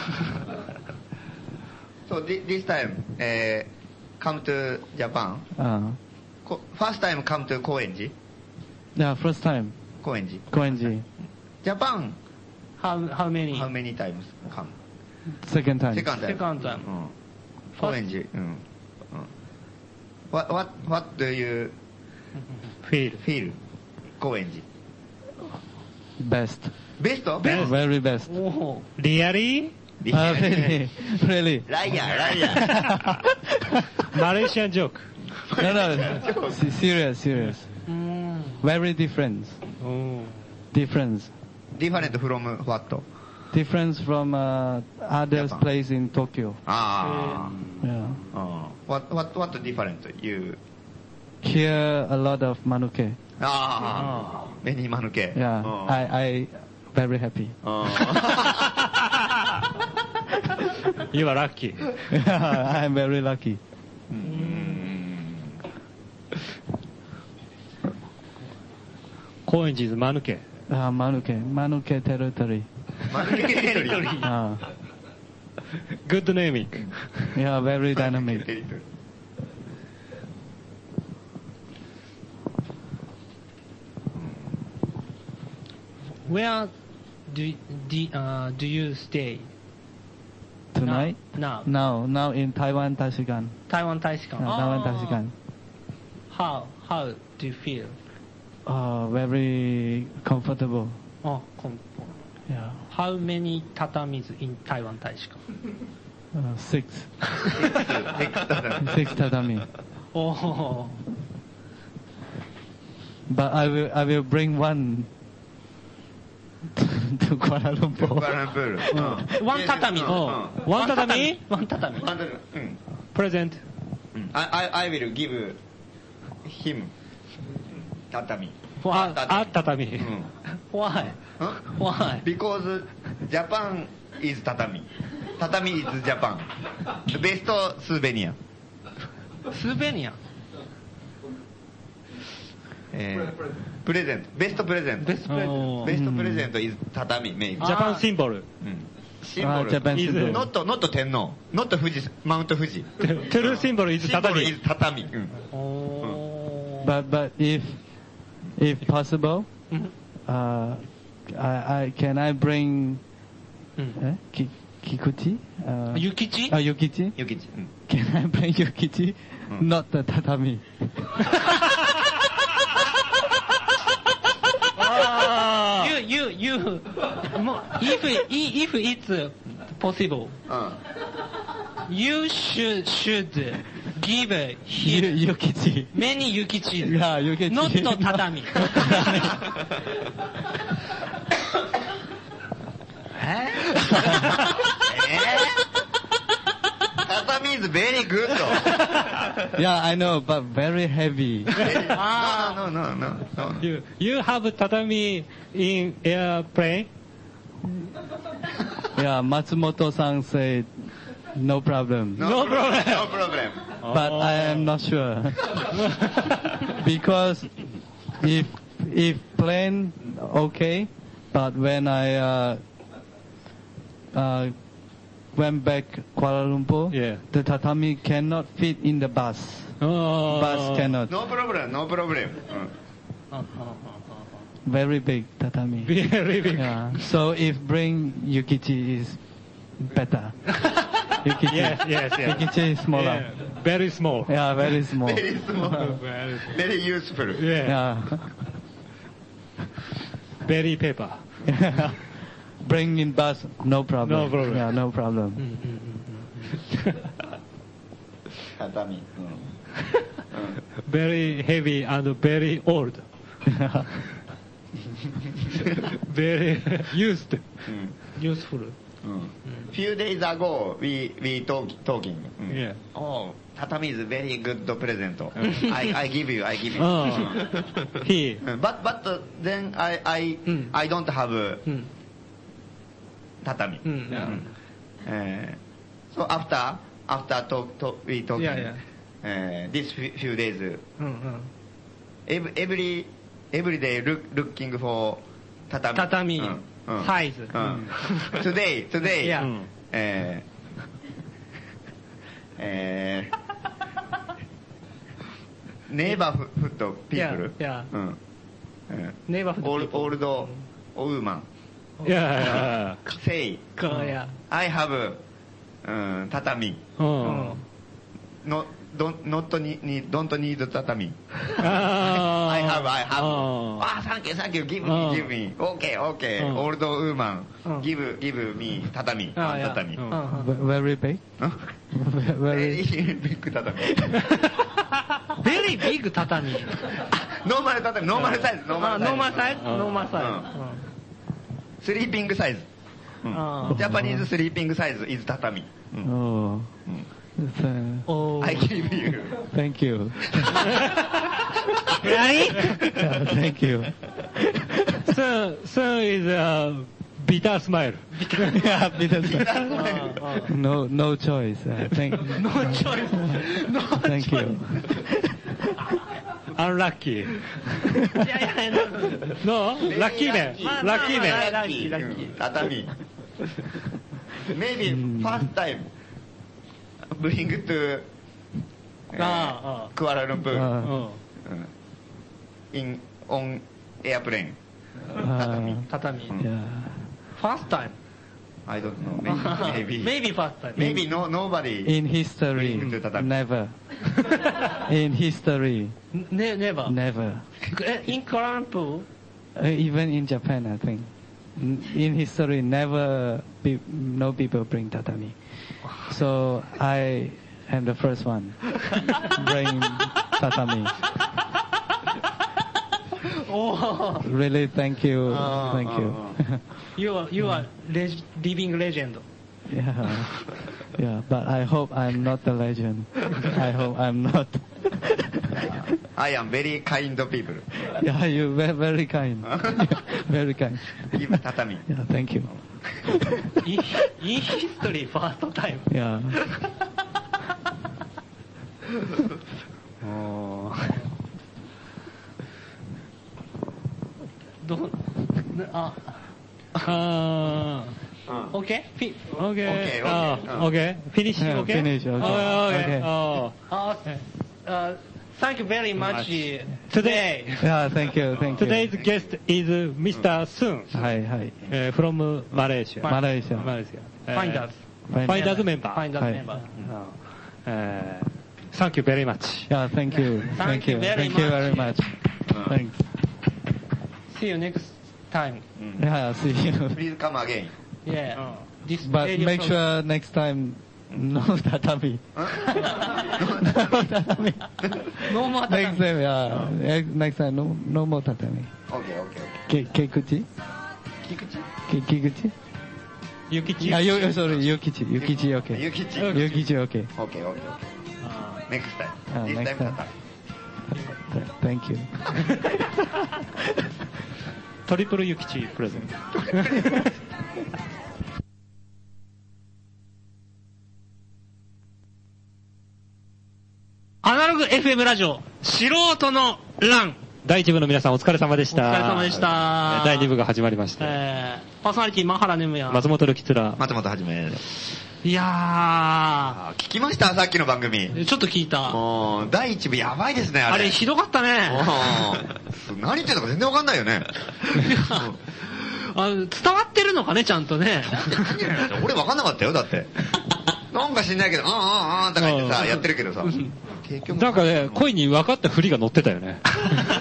So thi- this time, uh, come to Japan. Uh, Ko- First time come to Koenji. yeah, first time. Koenji. Koenji. Japan, how, how many? how many times come? Second time. Second time. Second time. うん。Koenji. うん。うん。What, what, what do you Feel. feel? Koenji. Best. Best? Best. Very best. おお。 Really? Uh, really, really. ライアー、ライアー。 Malaysian joke. No, no. Se- serious, serious. うーん。 Very different. Oh. difference. Different from what? Difference from uh, other Japan. place in Tokyo. Ah. Yeah. Uh, what what what different? You. Here a lot of manuke. Ah. Many manuke. Yeah. Oh. I I very happy. Oh. You are lucky. Yeah, I'm very lucky. Koenji is Manuke. Uh, manuke, manuke territory. Manuke territory. Uh, Good naming. yeah, very dynamic. Territory. Where do do, uh, do you stay Tonight? now? Now, now in Taiwan Tashikan. Taiwan Taishikan. Uh, Taiwan Tashikan. How how do you feel? Uh, very comfortable. Oh, com- Yeah. how many tatamis in Taiwan Taishikan? Uh, six. Six tatami. Six tatami. Oh, But I will, I will bring one to Kuala Lumpur. Kuala Lumpur. Uh. one Yes, tatami. uh, Oh, uh. one tatami? One tatami. One tatami. Mm. Present. I, I, I will give him tatami. Why? Ah, tatami. Mm. Why? Huh? Why? Because Japan is tatami. Tatami is Japan. The best souvenir. Souvenir. えー、プレゼント。ベストプレゼント。 Best present. Oh. ベストプレゼント is 畳、メイク。 Japan symbol. うんシンボル。 Ah, Japan symbol. ノット、ノット天皇。ノット富士、マウント富士。 True symbol is シンボル tatami. is 畳。うん Oh. But but if if possible, Mhm. uh, I, I can I bring Mm. eh, ki, Kikuchi? Uh, Yukichi? uh, Yukichi? ゆきち。うん Can I bring Yukichi? Mm. Not the tatami. You, you, you, mo- if, if it's possible, うん。 you should, should give Yu, him Yukichi. many yukichi. Yeah, Yukichi. Not to tatami. 畳 is very good. Yeah, I know, but very heavy. Ah. no, no, no, no, no. You, you have tatami in airplane? Yeah, Matsumoto-san said no problem. No problem. No problem. But I am not sure. Because if if plane okay, but when I uh, uh, went back Kuala Lumpur, Yeah. the tatami cannot fit in the bus. Oh. Bus cannot. No problem, no problem. うん Very big tatami. Very big. Yeah. So if bring Yukichi is better. Yukichi. Yes, yes, yes. Yukichi is smaller. Yeah, very small. Yeah, very small. Very small. Very, Very useful. yeah. Yeah. Very paper. Bring in bus, no problem. No problem. Yeah, no problem. 畳。うん Very heavy and very old. Very used. うん Useful. うん Few days ago, we we talk talking. うん Yeah. Oh, tatami is very good present. I I give you, I give you. Oh. He. うん But but then I I うん I don't have うん。 tatami. うん。 うんえー So after after talk talk we talking. Yeah, yeah. えー This few few days, うんうん。 every every every day look looking for tatami. 畳うんうんサイズ。 うん Today today. いや。 うんえー、えー、ネイバーフットピープル Yeah, yeah. うん、 ネイバーフットオール people. オールドウーマン Yeah. say Yeah. I have うん畳 Oh. no don't not need don't need 畳 Ah. I have I have Oh. あ thank you thank you give me うん give me okay okay うんオールドウーマンうん give give me 畳あ yeah 畳うん Very big. ベ Very. リービッグ畳 Very big 畳。 ノーマル畳、ノーマルサイズ、ノーマルサイズ。 ノーマルサイズノーマルサイズ。 スリーピングサイズ。ジャパニーズスリーピングサイズ is 畳。 Oh. Oh. I give you. Thank you. Really? Yeah, thank you. Son, son is a bitter smile. Yeah, bitter smile. No, no choice. Uh, thank. No choice. No Thank choice. you. Unlucky. いやいや、 No? ラッキーね。 まあラッキーね。 まあまあラッキーラッキー畳。Maybe first time bring to ああ、 クアラルンプール。 Uh, in on airplane. uh, 畳。 yeah. First time. I don't know. Maybe. Maybe. Maybe first time. Maybe no nobody. In history, Bring to tatami. never. In history, Ne- never. never. Eh, In Kuala Lumpur, Uh, even in Japan, I think. N- In history, never be, no people bring tatami. So I am the first one bring tatami. oh, Really, thank you, Ah, thank you. you are you are leg- living legend. Yeah, yeah. But I hope I'm not the legend. I hope I'm not. I am very kind people. Yeah, you very very kind. Very kind. Give tatami. Yeah, thank you. In, in history, first time. Yeah. どうあ、 あー OK? Fi- Okay. Okay, Ah, okay. okay. Finish. Yeah, Okay. finish, okay. Oh, okay. Okay. Oh. uh, uh, thank you very much Today- today. Yeah, thank you, thank you. Today's guest is Mister Sun はいはい。 uh, from Malaysia. マレーシア。 Malaysia. Uh, Finders. Finders member. Finders はい member. Uh, thank you very much. Yeah, thank you. Thank you very Thank you much. very much. Thanks. See you next time. Yeah, see you. Please come again. Yeah. This But radio make program- sure next time no tatami. No tatami. No more Next tatami. time, yeah. Next- Next time, no, no more tatami. Okay, okay, okay. Ke, Kekuchi? Ke, Kikuchi? Yukichi. Ah, you, sorry, Yukichi. Yukichi, okay. Yukichi. Yukichi, okay. Okay, okay, okay. Next time. Ah, This next time time. tatami. Th- Thank you. トリプルユキチプレゼント。 アナログ エフエム ラジオ、素人の欄。 第一部の皆さんお疲れ様でした。 お疲れ様でした第二部が始まりました。 えー、パーソナリティ、マハラネムヤ。 松本るきつら。 松本はじめ。 いやあ聞きましたさっきの番組。 ー、ちょっと聞いた。 もう、第一部やばいですね、あれ。 あれ、ひどかったね。 うん何言ってんのか全然わかんないよね。 あの伝わってるのかね、ちゃんとね。 俺わかんなかったよ、だって。なんか知んないけど、あんあんあんとか言ってさ、やってるけどさ。結局なんかね、声に分かった振りが乗ってたよね。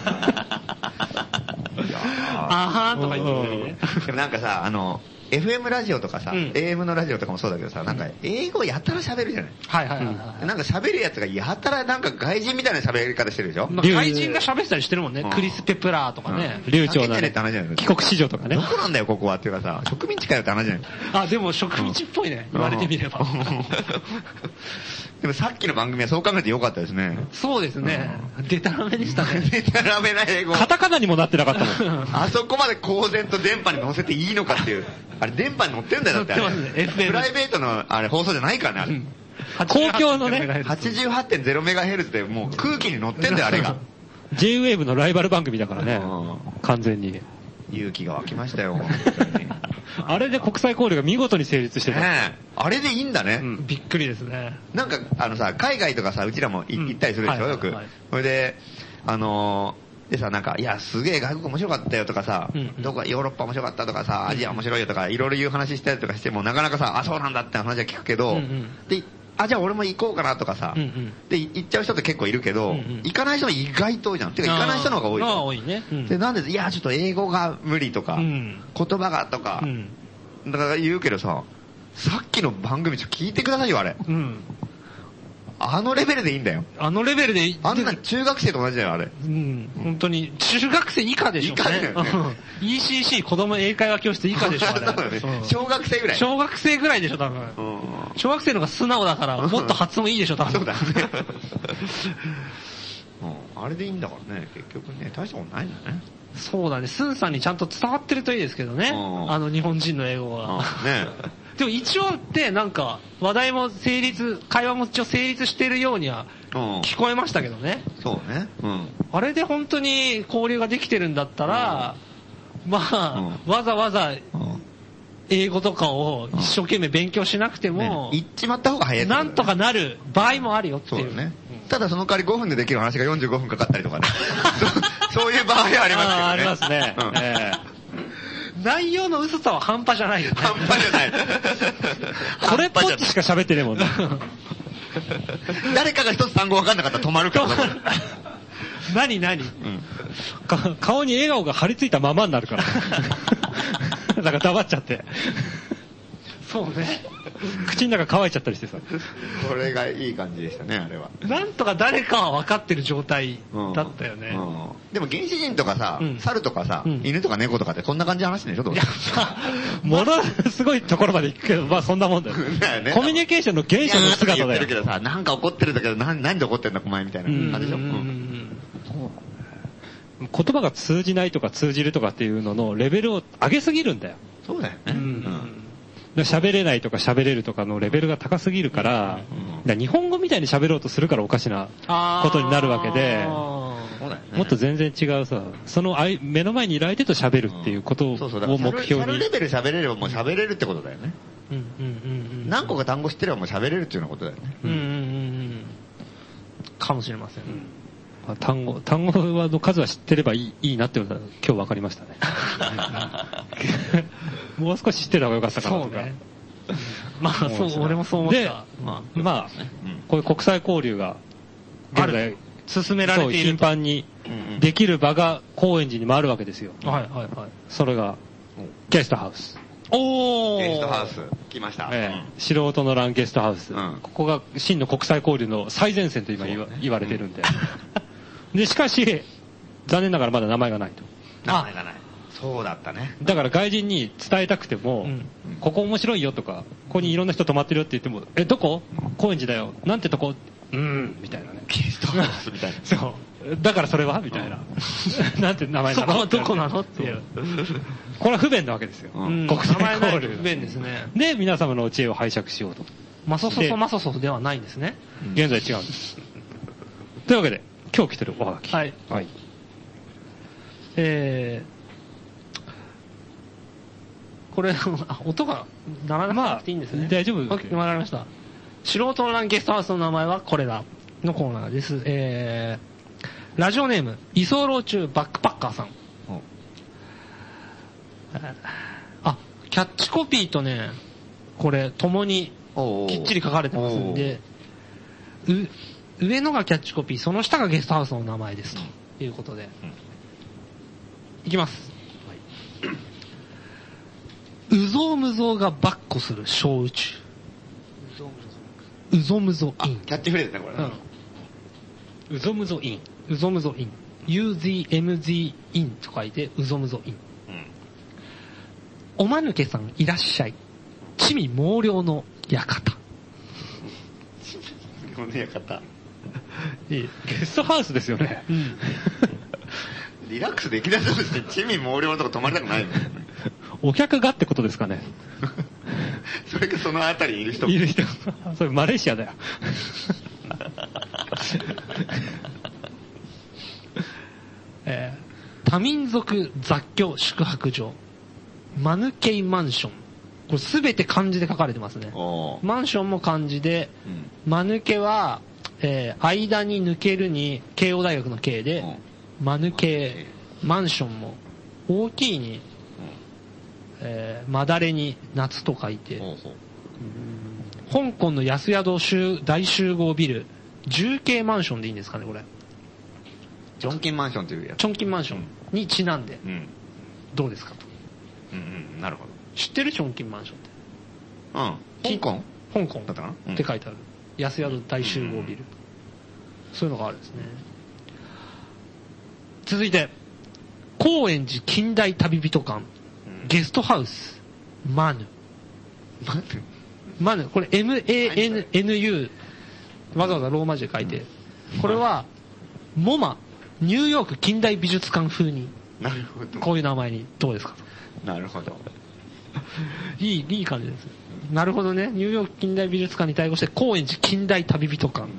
あはーとか言ってるね。 でもなんかさ、あの、エフエム ラジオとかさ、 うんエーエム のラジオとかもそうだけどさ、なんか英語やたら喋るじゃない。 はいはいはいはなんか喋るやつがやたらなんか外人みたいな喋り方してるでしょい。まあ怪人が喋ってたりしてるもんねうん。 クリス・ペプラーとかね。 流暢な、 叫んでねねって話じゃない、 帰国子女とかねど。こなんだよここはっていうかさ、植民地かよって話じゃない。 あ、でも植民地っぽいね。言われてみれば。 でもさっきの番組はそう考えてよかったですね。 そうですね。デタラメでしたね。 でたらめな英語。 カタカナにもなってなかったもん。 あそこまで公然と電波に乗せていいのかっていう。あれ電波に乗ってんだよだってあれ。 乗ってますね エフエムプライベートのあれ放送じゃないからねあれ。 公共のね、 はちじゅうはちてんゼロメガヘルツでもう空気に乗ってんだよあれが。 ジェイウェーブ のライバル番組だからねう。 完全に。 勇気が湧きましたよ。本当にねあれで国際交流が見事に成立してた。 えあれでいいんだね。 びっくりですね。 なんかあのさ、海外とかさ、うちらもいうん行ったりするでしょ、 はいよくはい。 それで、あのー、でさ、なんか、いや、すげえ外国面白かったよとかさうんうん、 どこかヨーロッパ面白かったとかさ、アジア面白いよとか、いろいろ言う話したりとかしても、なかなかさ、あ、そうなんだって話は聞くけどうんうん、 で、あ、じゃあ俺も行こうかなとかさうんうん、 で、行っちゃう人って結構いるけどうんうん、 行かない人も意外と多いじゃん。てか、行かない人の方が多いああ、 よ。 多いね。うんで、なんで、いや、ちょっと英語が無理とか、 うん言葉がとかう、ん。 だから言うけどさ、さっきの番組ちょっと聞いてくださいよ、あれ。 うん。 あのレベルでいいんだよ。 あのレベルで、 あんな中学生と同じだよ、あれ。 うん、本当に、中学生以下でしょうね。 以下だよね。 イーシーシー 子供英会話教室以下でしょ、あれ。 そうだね。小学生ぐらい。 小学生ぐらいでしょ、多分。小学生の方が素直だから、もっと発音いいでしょ、多分。 そうだね。あれでいいんだからね、結局ね、大したことないんだね。 そうだね、スンさんにちゃんと伝わってるといいですけどね。あの日本人の英語が。 ねでも一応ってなんか話題も成立、会話も一応成立してるようには聞こえましたけどね。 そうね。うん。 あれで本当に交流ができてるんだったら、まあ、わざわざ英語とかを一生懸命勉強しなくても、 言っちまった方が早い。 なんとかなる場合もあるよっていう。 そうね。ただその代わりごふんでできる話がよんじゅうごふんかかったりとかね。そういう場合はありますけどね。 ありますね。え内容の薄さは半端じゃないよね。 半端じゃない。 これっぽっちしか喋ってねえもんね。 誰かが一つ単語分かんなかったら止まるから。 何何、うん、 顔に笑顔が張り付いたままになるから。だから黙っちゃって。 そうね。 口の中乾いちゃったりしてさ。 これがいい感じでしたね、あれは。 なんとか誰かは分かってる状態だったよね。 うんうん、でも原始人とかさ、うん、猿とかさ、うん、犬とか猫とかってこんな感じの話でしょ、どうものすごいところまで行くけど、まあそんなもんだよ。だよね、コミュニケーションの原初の姿だよ。 言ってるけどさ、なんか怒ってるんだけど、何で怒ってんだお前みたいな感じでしょ。 言葉が通じないとか通じるとかっていうののレベルを上げすぎるんだよ。 そうだよね。うんうん喋れないとか喋れるとかのレベルが高すぎるから、うん、だから日本語みたいに喋ろうとするからおかしなことになるわけで、もっと全然違うさ、その目の前にいる相手と喋るっていうことを目標に。 シャルレベル喋れればもう喋れるってことだよね。何個か単語知ってればもう喋れるっていうようなことだよね。うんうんうんうん、 かもしれません。うん単語、単語の数は知ってればいい、いいなってことは今日分かりましたね。もう少し知ってた方がよかったかなとか。そうね。 まあそう、俺もそう思った。で、 まあ、まあ、こういう国際交流が現在進められている。 頻繁にできる場が高円寺にもあるわけですよ。 はいはいはい。 それが、ゲストハウス。 おーゲストハウス、来ました。 ええ、素人の欄ゲストハウス。ここが真の国際交流の最前線と今言わ、言われてるんで。で、しかし、残念ながらまだ名前がないと。 名前がない。そうだったね。 だから外人に伝えたくても、うん、ここ面白いよとか、ここにいろんな人泊まってるよって言っても、え、どこ高円寺だよ。なんてとこうーん、みたいなね。 ゲストハウスみたいな。 そう。だからそれはみたいな。なんて名前なのそこはどこなのっていう。 これは不便なわけですよ。 うん、国際交流。不便ですね。 で、皆様の知恵を拝借しようと。 マソソソマソソではないんですね。 現在違うんです。というわけで、今日来てるおはがき。 はい。はい。えー、これ、あ、音が鳴らなくていいんですね。 まあ、大丈夫。 わかりました。素人のランゲストハウスの名前はこれだのコーナーです。えー、ラジオネーム、居候中バックパッカーさん。あ、キャッチコピーとね、これ、共にきっちり書かれてますんで、う、上のがキャッチコピー、その下がゲストハウスの名前ですということで、うん、いきます、はい、うぞうむぞうがばっこする小宇宙、うぞむぞイン、 キャッチフレーズねこれ、 うん、うぞむぞイン、 うぞむぞイン、 ユーゼットエムゼット インと書いてうぞむぞイン、うん、おまぬけさんいらっしゃい、地味猛量の館、 この館いいゲストハウスですよね、うん、 リラックスできなそうですね。地味猛量のとこ泊まりたくないのお客がってことですかねそれかそのあたりにいる人いる人それマレーシアだよえー、多民族雑居宿泊所マヌケイマンション、これすべて漢字で書かれてますね。マンションも漢字で、うん、マヌケは、えー、間に抜けるに慶応大学の慶で、うん、マヌケマンションも大きいに、うんえー、まだれに夏と書いて、うん、香港の安宿大集合ビル重慶マンションでいいんですかねこれ。 チョンキンマンションというやつ。 チョンキンマンションにちなんで、うん、どうですかと。 うんうん、なるほど。 知ってるチョンキンマンションって。 うん。香港香港だったかな、 って書いてある。 安宿大集合ビル。そういうのがあるんですね。続いて、高円寺近代旅人館、ゲストハウス、マヌ。 マヌマヌ、これ エムエーエヌエヌユー、わざわざローマ字で書いて、これは、モマ、ニューヨーク近代美術館風に、 なるほど。 こういう名前に、どうですか？ なるほど。 いい、いい感じです。なるほどね。ニューヨーク近代美術館に対応して、高円寺近代旅人館。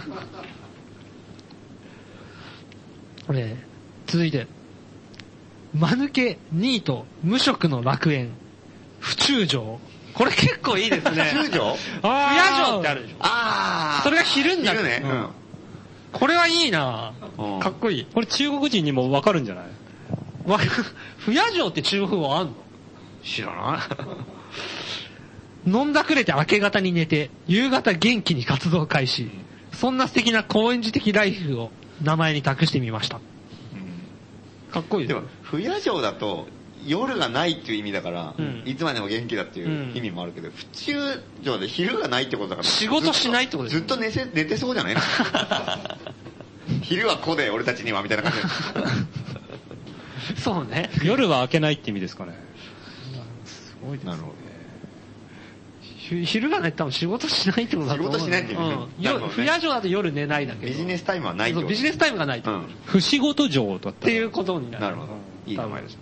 えー、続いて、間抜けニート無職の楽園府中城。これ結構いいですね。 府中城？ 不夜城ってあるでしょ。 ああ。 それが昼になる。 昼ね。うん。 これはいいなぁ。かっこいい。 これ中国人にもわかるんじゃない？ わ不夜城って中国語あんの？ 知らない。 飲んだくれて明け方に寝て、夕方元気に活動開始。そんな素敵な高円寺的ライフを名前に託してみました。うん、かっこいいでも、不夜城だと、夜がないっていう意味だから、うん、いつまでも元気だっていう意味もあるけど、うん、府中城で昼がないってことだから。 仕事しないってことですずっと寝せ寝てそうじゃない昼は子で俺たちにはみたいな感じそうね。 夜は明けないって意味ですかね。 すごいですね。なるほど。 昼がないって多分仕事しないってことだと思う。 仕事しないっていうね。 うん。不夜城だと夜寝ないだけど。 ビジネスタイムはないってこと。 ビジネスタイムがないと。うん。 不仕事城だった。 っていうことになる。 なるほど。いい名前ですね。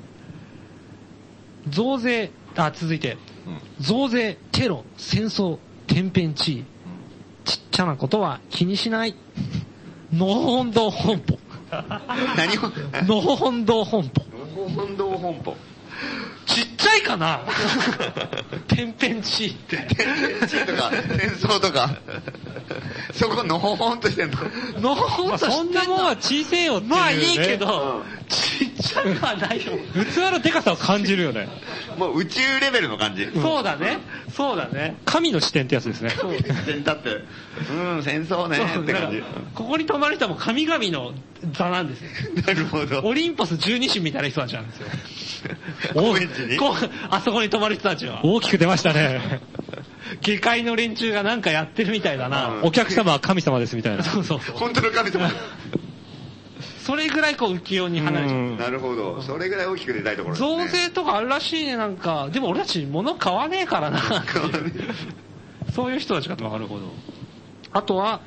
増税、あ、続いて。うん、増税、テロ、戦争、天変地異。うん、ちっちゃなことは気にしない。のほほん堂本舗。 何をのほほん堂本舗。 のほほん堂本舗。 ちっちゃいかな天変地異って。 天変地異とか、戦争とか。そこのほほんとしてんの。 のほほんとしてんの。 そんなもんは小せえよっていう、ね。 まあいいけど、うん、ちっちゃくはないよ。 器のデカさを感じるよね。 もう宇宙レベルの感じ。 うん、そうだね。そうだね。 神の視点ってやつですね。 神の視点だって、うん、戦争ねって感じ。 ここに泊まる人はもう神々の座なんですよ。 なるほど。 オリンポス十二神みたいな人たちなんですよ。 高円寺にこあそこに泊まる人たちは。 大きく出ましたね。 下界の連中がなんかやってるみたいだな。 うん、お客様は神様ですみたいな。 そうそうそう。 本当の神様。 それぐらいこう浮世に離れちゃう。 なるほど。それぐらい大きく出たいところですね。 増税とかあるらしいね、なんか。でも俺たち物買わねえからな。そういう人たちかと。 なるほど。 あとは、はい、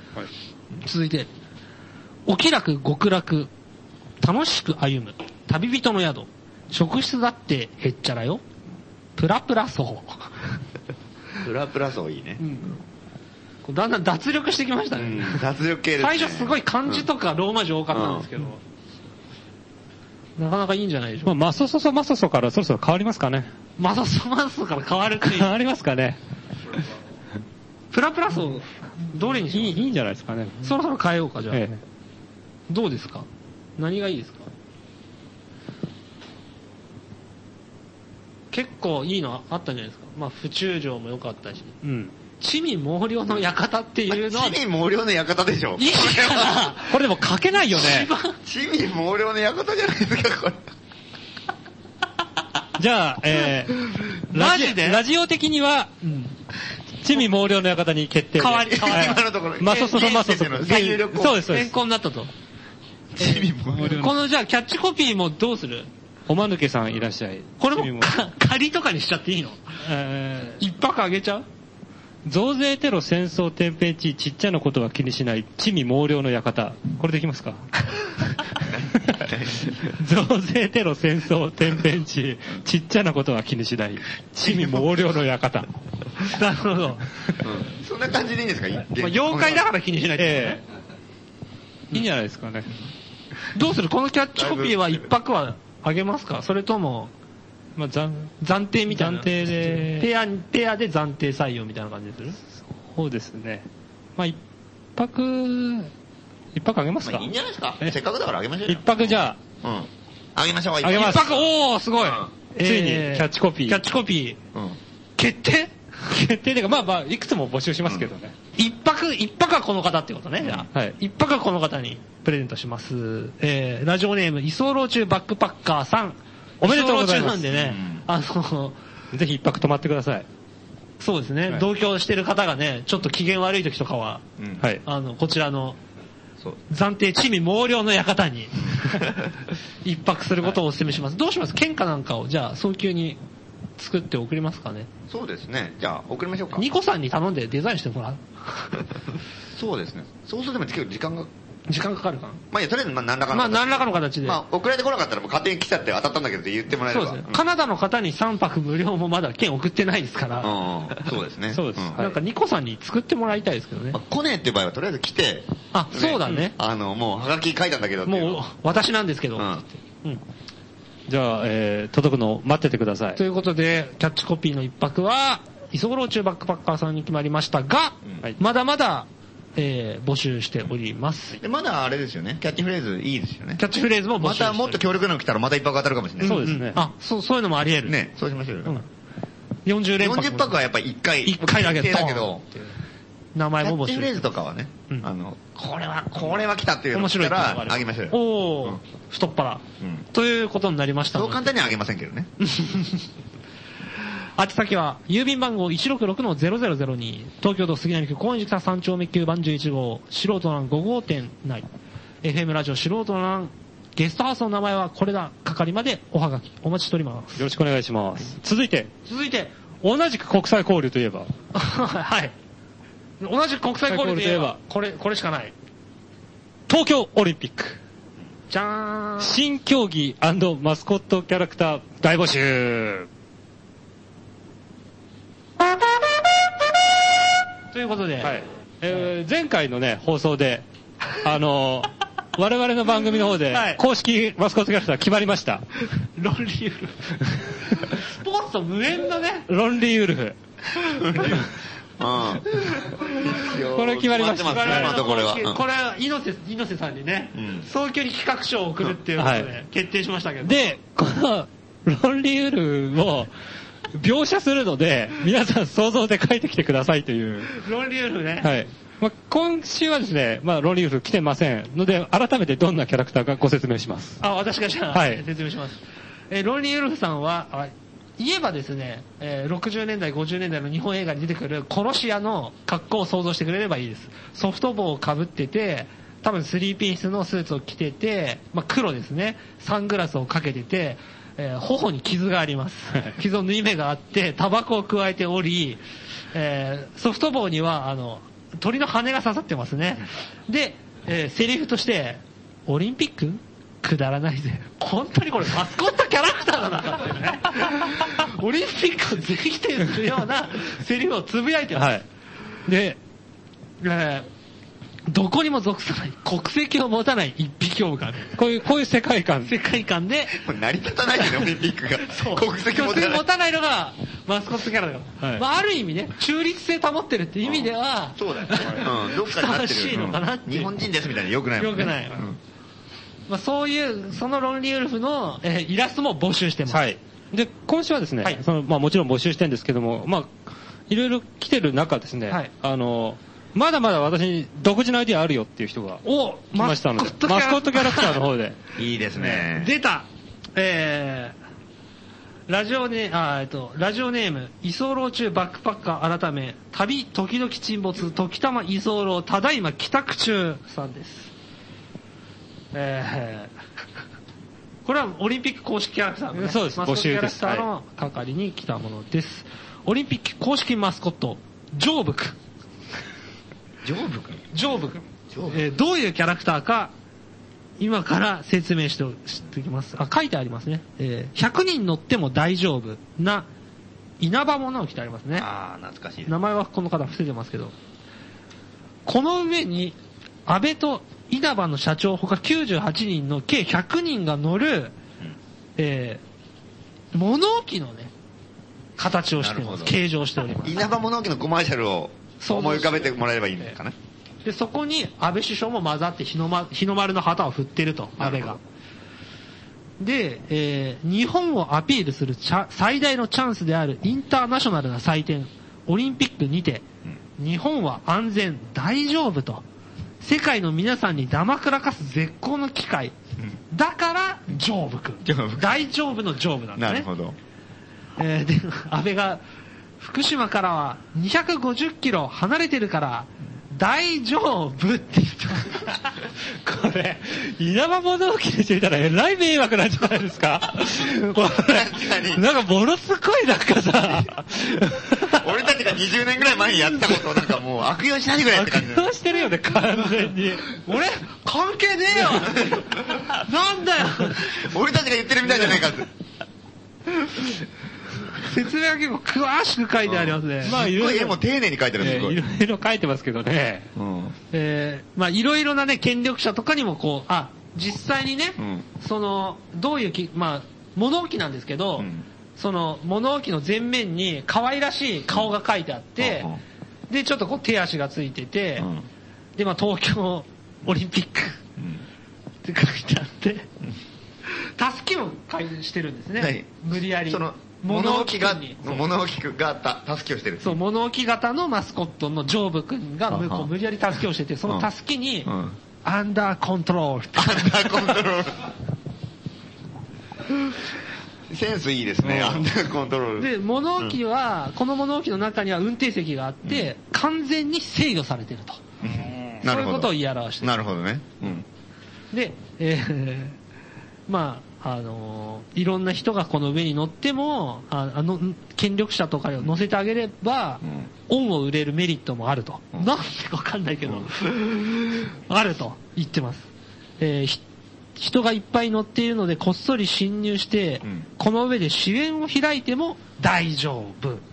続いて、お気楽極楽、楽しく歩む、旅人の宿、職質だってへっちゃらよ、プラプラ層。 プラプラ層いいね。 うん、だんだん脱力してきましたね。 うん、脱力系ですね。 最初すごい漢字とかローマ字多かったんですけど、うん、なかなかいいんじゃないでしょうか。 まあ、マソソソマソソからそろそろ変わりますかね。 マソソマソソから変わるっていう。 変わりますかね。 プラプラ層、どれにします？ いい、いいんじゃないですかね。 そろそろ変えようか、じゃあ。ええ、どうですか？何がいいですか？結構いいのあったんじゃないですか。まあ、府中城も良かったし。うん。地味毛量の館っていうのは。 地味毛量の館でしょ。 いいかなこれでも書けないよね。 地味毛量の館じゃないですか、これ。 じゃあ、えー、 マジでラジオ的には、うん、地味毛量の館に決定。 変わり、変わり。 今のところ。 マソソソマソソ。 最有力。 そうです、そうです。変更になったと。 地味毛量の。 このじゃあキャッチコピーもどうする？ おまぬけさんいらっしゃい。 これも仮とかにしちゃっていいの？えー、一泊あげちゃう？ 増税テロ戦争天変地異ちっちゃなことは気にしない地味毛量の館。これできますか？増税テロ戦争天変地異ちっちゃなことは気にしない地味毛量の館。 なるほど、 うん。そんな感じでいいんですか？まあ、妖怪だから気にしないってことね。 えー、いいんじゃないですかね。 どうする？このキャッチコピーは一泊はあげますか？それとも、 まあ、暫暫定みたいな。 暫定で。 ペア、ペアで暫定採用みたいな感じでする？ そうですね。まあ、一泊、一泊あげますか？ まあ、いいんじゃないですか？せっかくだからあげましょうよ。 一泊じゃあ。うん。あげましょう。 あげます。 一泊、おー、すごい。うん、 ついに、キャッチコピー。 キャッチコピー。うん。決定決定でか、まあまあ、いくつも募集しますけどね。 うん、一泊、一泊はこの方ってことね、じゃあ。はい。一泊はこの方にプレゼントします。えー、ラジオネーム、居候中バックパッカーさん。 おめでとうございます。 居候中なんでね、うん、あの、 ぜひ一泊泊まってください。 そうですね、はい、同居してる方がね、ちょっと機嫌悪い時とかは、うん、あの、こちらの、暫定地味毛量の館に一泊することをお勧めします。どうします？献花なんかを、じゃあ、早急に作って送りますかね。 そうですね。じゃあ、送りましょうか。 ニコさんに頼んでデザインしてもらうそうですね。そうすると結構時間が。 時間かかるかな。 まあいや、とりあえずまあ何らかの形で。まあ何らかの形で。 まあ送られてこなかったらもう勝手に来ちゃって当たったんだけどって言ってもらえれば。 そうですね。うん、カナダの方にさんぱく無料もまだ券送ってないですから。 うん、そうですね。 そうです。 うん、なんかニコさんに作ってもらいたいですけどね。 まあ、来ねえっていう場合はとりあえず来て。 あ、ね、そうだね。 あの、もうハガキ書いたんだけどっていう。 もう私なんですけど。うん。 うん、じゃあ、えー、届くのを待っててください。 ということで、キャッチコピーの一泊は、居候中バックパッカーさんに決まりましたが、うん、まだまだ、えー、募集しております。 で、まだあれですよね。キャッチフレーズいいですよね。 キャッチフレーズも募集してまたもっと強力なの来たらまた一泊当たるかもしれない。 そうですね。うん、 あ、そう、そういうのもあり得る。 ね、そうしましょうよ。うん、 よんじゅう連泊。よんじゅっぱくはやっぱりいっかい。 いっかいだけだけど、 名前も募集。 キャッチフレーズとかはね、うん、あの、これは、これは来たっていうのを来たらあげましょうよ。 おー、うん、太っ腹、うん。ということになりましたので。 そう簡単にはあげませんけどね。 宛先は、郵便番号 いちろくろくのゼロゼロゼロに、東京都杉並区高円寺北さん丁目きゅうばんじゅういち号、素人欄ご号店内、エフエム ラジオ素人欄、ゲストハウスの名前はこれだ、係までおはがき、お待ちしております。 よろしくお願いします。続いて、 続いて、 同じく国際交流といえば、 はい。同じく国際交流といえば、これ、これしかない。 東京オリンピック。 じゃーん。 新競技&マスコットキャラクター大募集。 ということで、 はい、えー、前回のね、放送で、あのー、我々の番組の方で、公式マスコットキャラクター決まりました。 ロンリーウルフ。スポーツと無縁のね。 ロンリーウルフ。これ決まりました。 これは。 これは、猪瀬、猪瀬さんにね、うん、早急に企画書を送るっていうことで、はい、決定しましたけど。 で、この、ロンリーウルフを、描写するので、皆さん想像で書いてきてくださいという。 ロンリーウルフね。 はい。まあ、今週はですね、まあ、ロンリーウルフ来てませんので、改めてどんなキャラクターかご説明します。 あ、私がじゃあ、はい、説明します。えー、ロンリーウルフさんは、あ言えばですね、えー、ろくじゅうねんだい、ごじゅうねんだいの日本映画に出てくる殺し屋の格好を想像してくれればいいです。ソフト帽をかぶってて、多分スリーピースのスーツを着てて、まあ、黒ですね。サングラスをかけてて、えー、頬に傷があります。傷を縫い目があって、タバコを加えており、えー、ソフト帽には、あの、鳥の羽が刺さってますね。で、えー、セリフとして、オリンピックくだらないぜ。本当にこれマスコットキャラクターだなっていうね。オリンピックを全否定するようなセリフをつぶやいてます。はい、で、えーどこにも属さない、国籍を持たない一匹狼。 こういう、こういう世界観。 世界観で。 成り立たないよね、オリンピックが。 そう。国籍持たない。持たないのが、マスコットキャラだよ。はい、まあ、ある意味ね、中立性保ってるって意味では、 うん、そうだよね。うん、どっかになってる。 しいのかなって。 日本人ですみたいな良くないもんね。 良くない。うん、まあ、そういう、そのロンリーウルフの、えー、イラストも募集してます。 はい。で、今週はですね、はい、その、まあ、もちろん募集してるんですけども、まあ、いろいろ来てる中ですね、はい、あの、まだまだ私に独自のアイディアあるよっていう人が来ましたので、マスコットキャラクターの方で。 いいですね。 出たえー、ラジオネ、あ、えっと、ラジオネーム、居候中バックパッカー改め、旅時々沈没、時たま居候、ただいま帰宅中さんです。えー、これはオリンピック公式キャラクターの、ね、 そうです、募集です。 マスコットキャラクターの係に来たものです。オリンピック公式マスコット、ジョーブ君。 ジョーブ君ジョーブ君。えー、どういうキャラクターか、今から説明しておきます。あ、書いてありますね。えー、ひゃくにん乗っても大丈夫な稲葉物を着てありますね。 ああ、懐かしい。 名前はこの方伏せてますけど。この上に、安倍と稲葉の社長他きゅうじゅうはちにんの計ひゃくにんが乗る、うん、えー、物置のね、形をしています。形状しております。 稲葉物置のコマーシャルを思い浮かべてもらえればいいのかな。 で、そこに安倍首相も混ざって日の丸、日の丸の旗を振ってると、安倍が。で、えー、日本をアピールする最大のチャンスであるインターナショナルな祭典、オリンピックにて、うん、日本は安全、大丈夫と、世界の皆さんにだまくらかす絶好の機会。うん、だから、ジョーブ君。大丈夫のジョーブなんですね。 なるほど。 えー、で、安倍が、 福島からはにひゃくごじゅっキロ離れてるから大丈夫って言ってこれ、稲葉物置でしてみたらえらい迷惑なんじゃないですかこれなんかものすごいなんかさ俺たちがにじゅうねんぐらい前にやったことをなんかもう悪用しないでくれって感じ。 悪用してるよね、完全に。 俺、関係ねえよなんだよ俺たちが言ってるみたいじゃないかって。 説明は結構詳しく書いてありますね。 まあいろいろ。絵も丁寧に書いてるんですよ。 いろいろ書いてますけどね。 うん、えー、まあいろいろなね、権力者とかにもこう、あ、実際にね、うん、その、どういうき、まあ、物置なんですけど、うん、その、物置の前面に可愛らしい顔が書いてあって、うん、で、ちょっとこう手足がついてて、うん、で、まあ東京オリンピック、うん、って書いてあって、たすきもしてるんですね。無理やり。 その物置が、物置がたすきをしてる。 そう、物置型のマスコットのジョーブ君が向こう無理やりたすきをしてて、そのたすきに、うん、アンダーコントロールって。 アンダーコントロール。センスいいですね、うん、アンダーコントロール。 で、物置は、うん、この物置の中には運転席があって、うん、完全に制御されてると。うん、そういうことを言い表してる。 なるほどね。うん、 で、えー、まあ、あのー、いろんな人がこの上に乗っても、ああの、権力者とかを乗せてあげれば、うん、恩を売れるメリットもあると。うん、なんでかわかんないけど、うん、あると言ってます。えー、人がいっぱい乗っているのでこっそり侵入して、うん、この上で支援を開いても大丈夫。うん、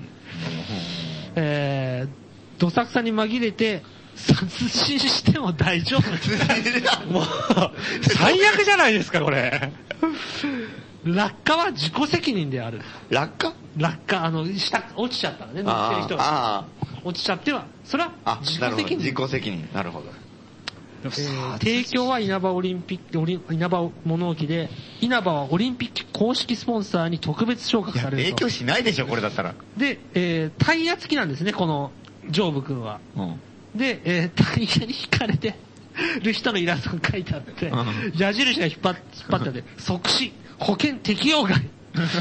えー、どさくさに紛れて、殺人しても大丈夫。もう、最悪じゃないですか、これ。落下は自己責任である。 落下落下、あの、下、落ちちゃったらね、乗ってる人が。落ちちゃっては、それは自己責任。 自己責任。なるほど。 えー、提供は稲葉オリンピック、稲葉物置で、稲葉はオリンピック公式スポンサーに特別昇格されると。 影響しないでしょ、これだったら。 で、えー、タイヤ付きなんですね、この、ジョーブ君は。うんで、えー、タイヤに引かれてる人のイラストが書いてあって、矢印が引っ張っ、引っ張ってあって、即死、保険適用外。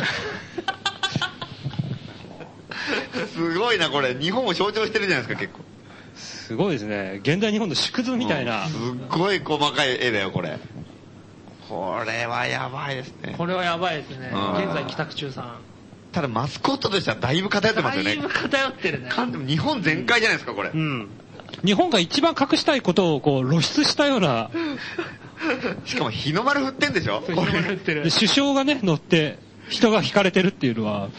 すごいな、これ。日本を象徴してるじゃないですか、結構。 すごいですね。現代日本の縮図みたいな。 うん、すっごい細かい絵だよ、これ。これはやばいですね。 これはやばいですね。現在帰宅中さん。 ただマスコットとしてはだいぶ偏ってますよね。 だいぶ偏ってるね。 でも日本全開じゃないですか、これ。 うん。日本が一番隠したいことをこう露出したような。 しかも日の丸振ってんでしょ。 日の丸振ってる。 首相がね乗って人が引かれてるっていうのは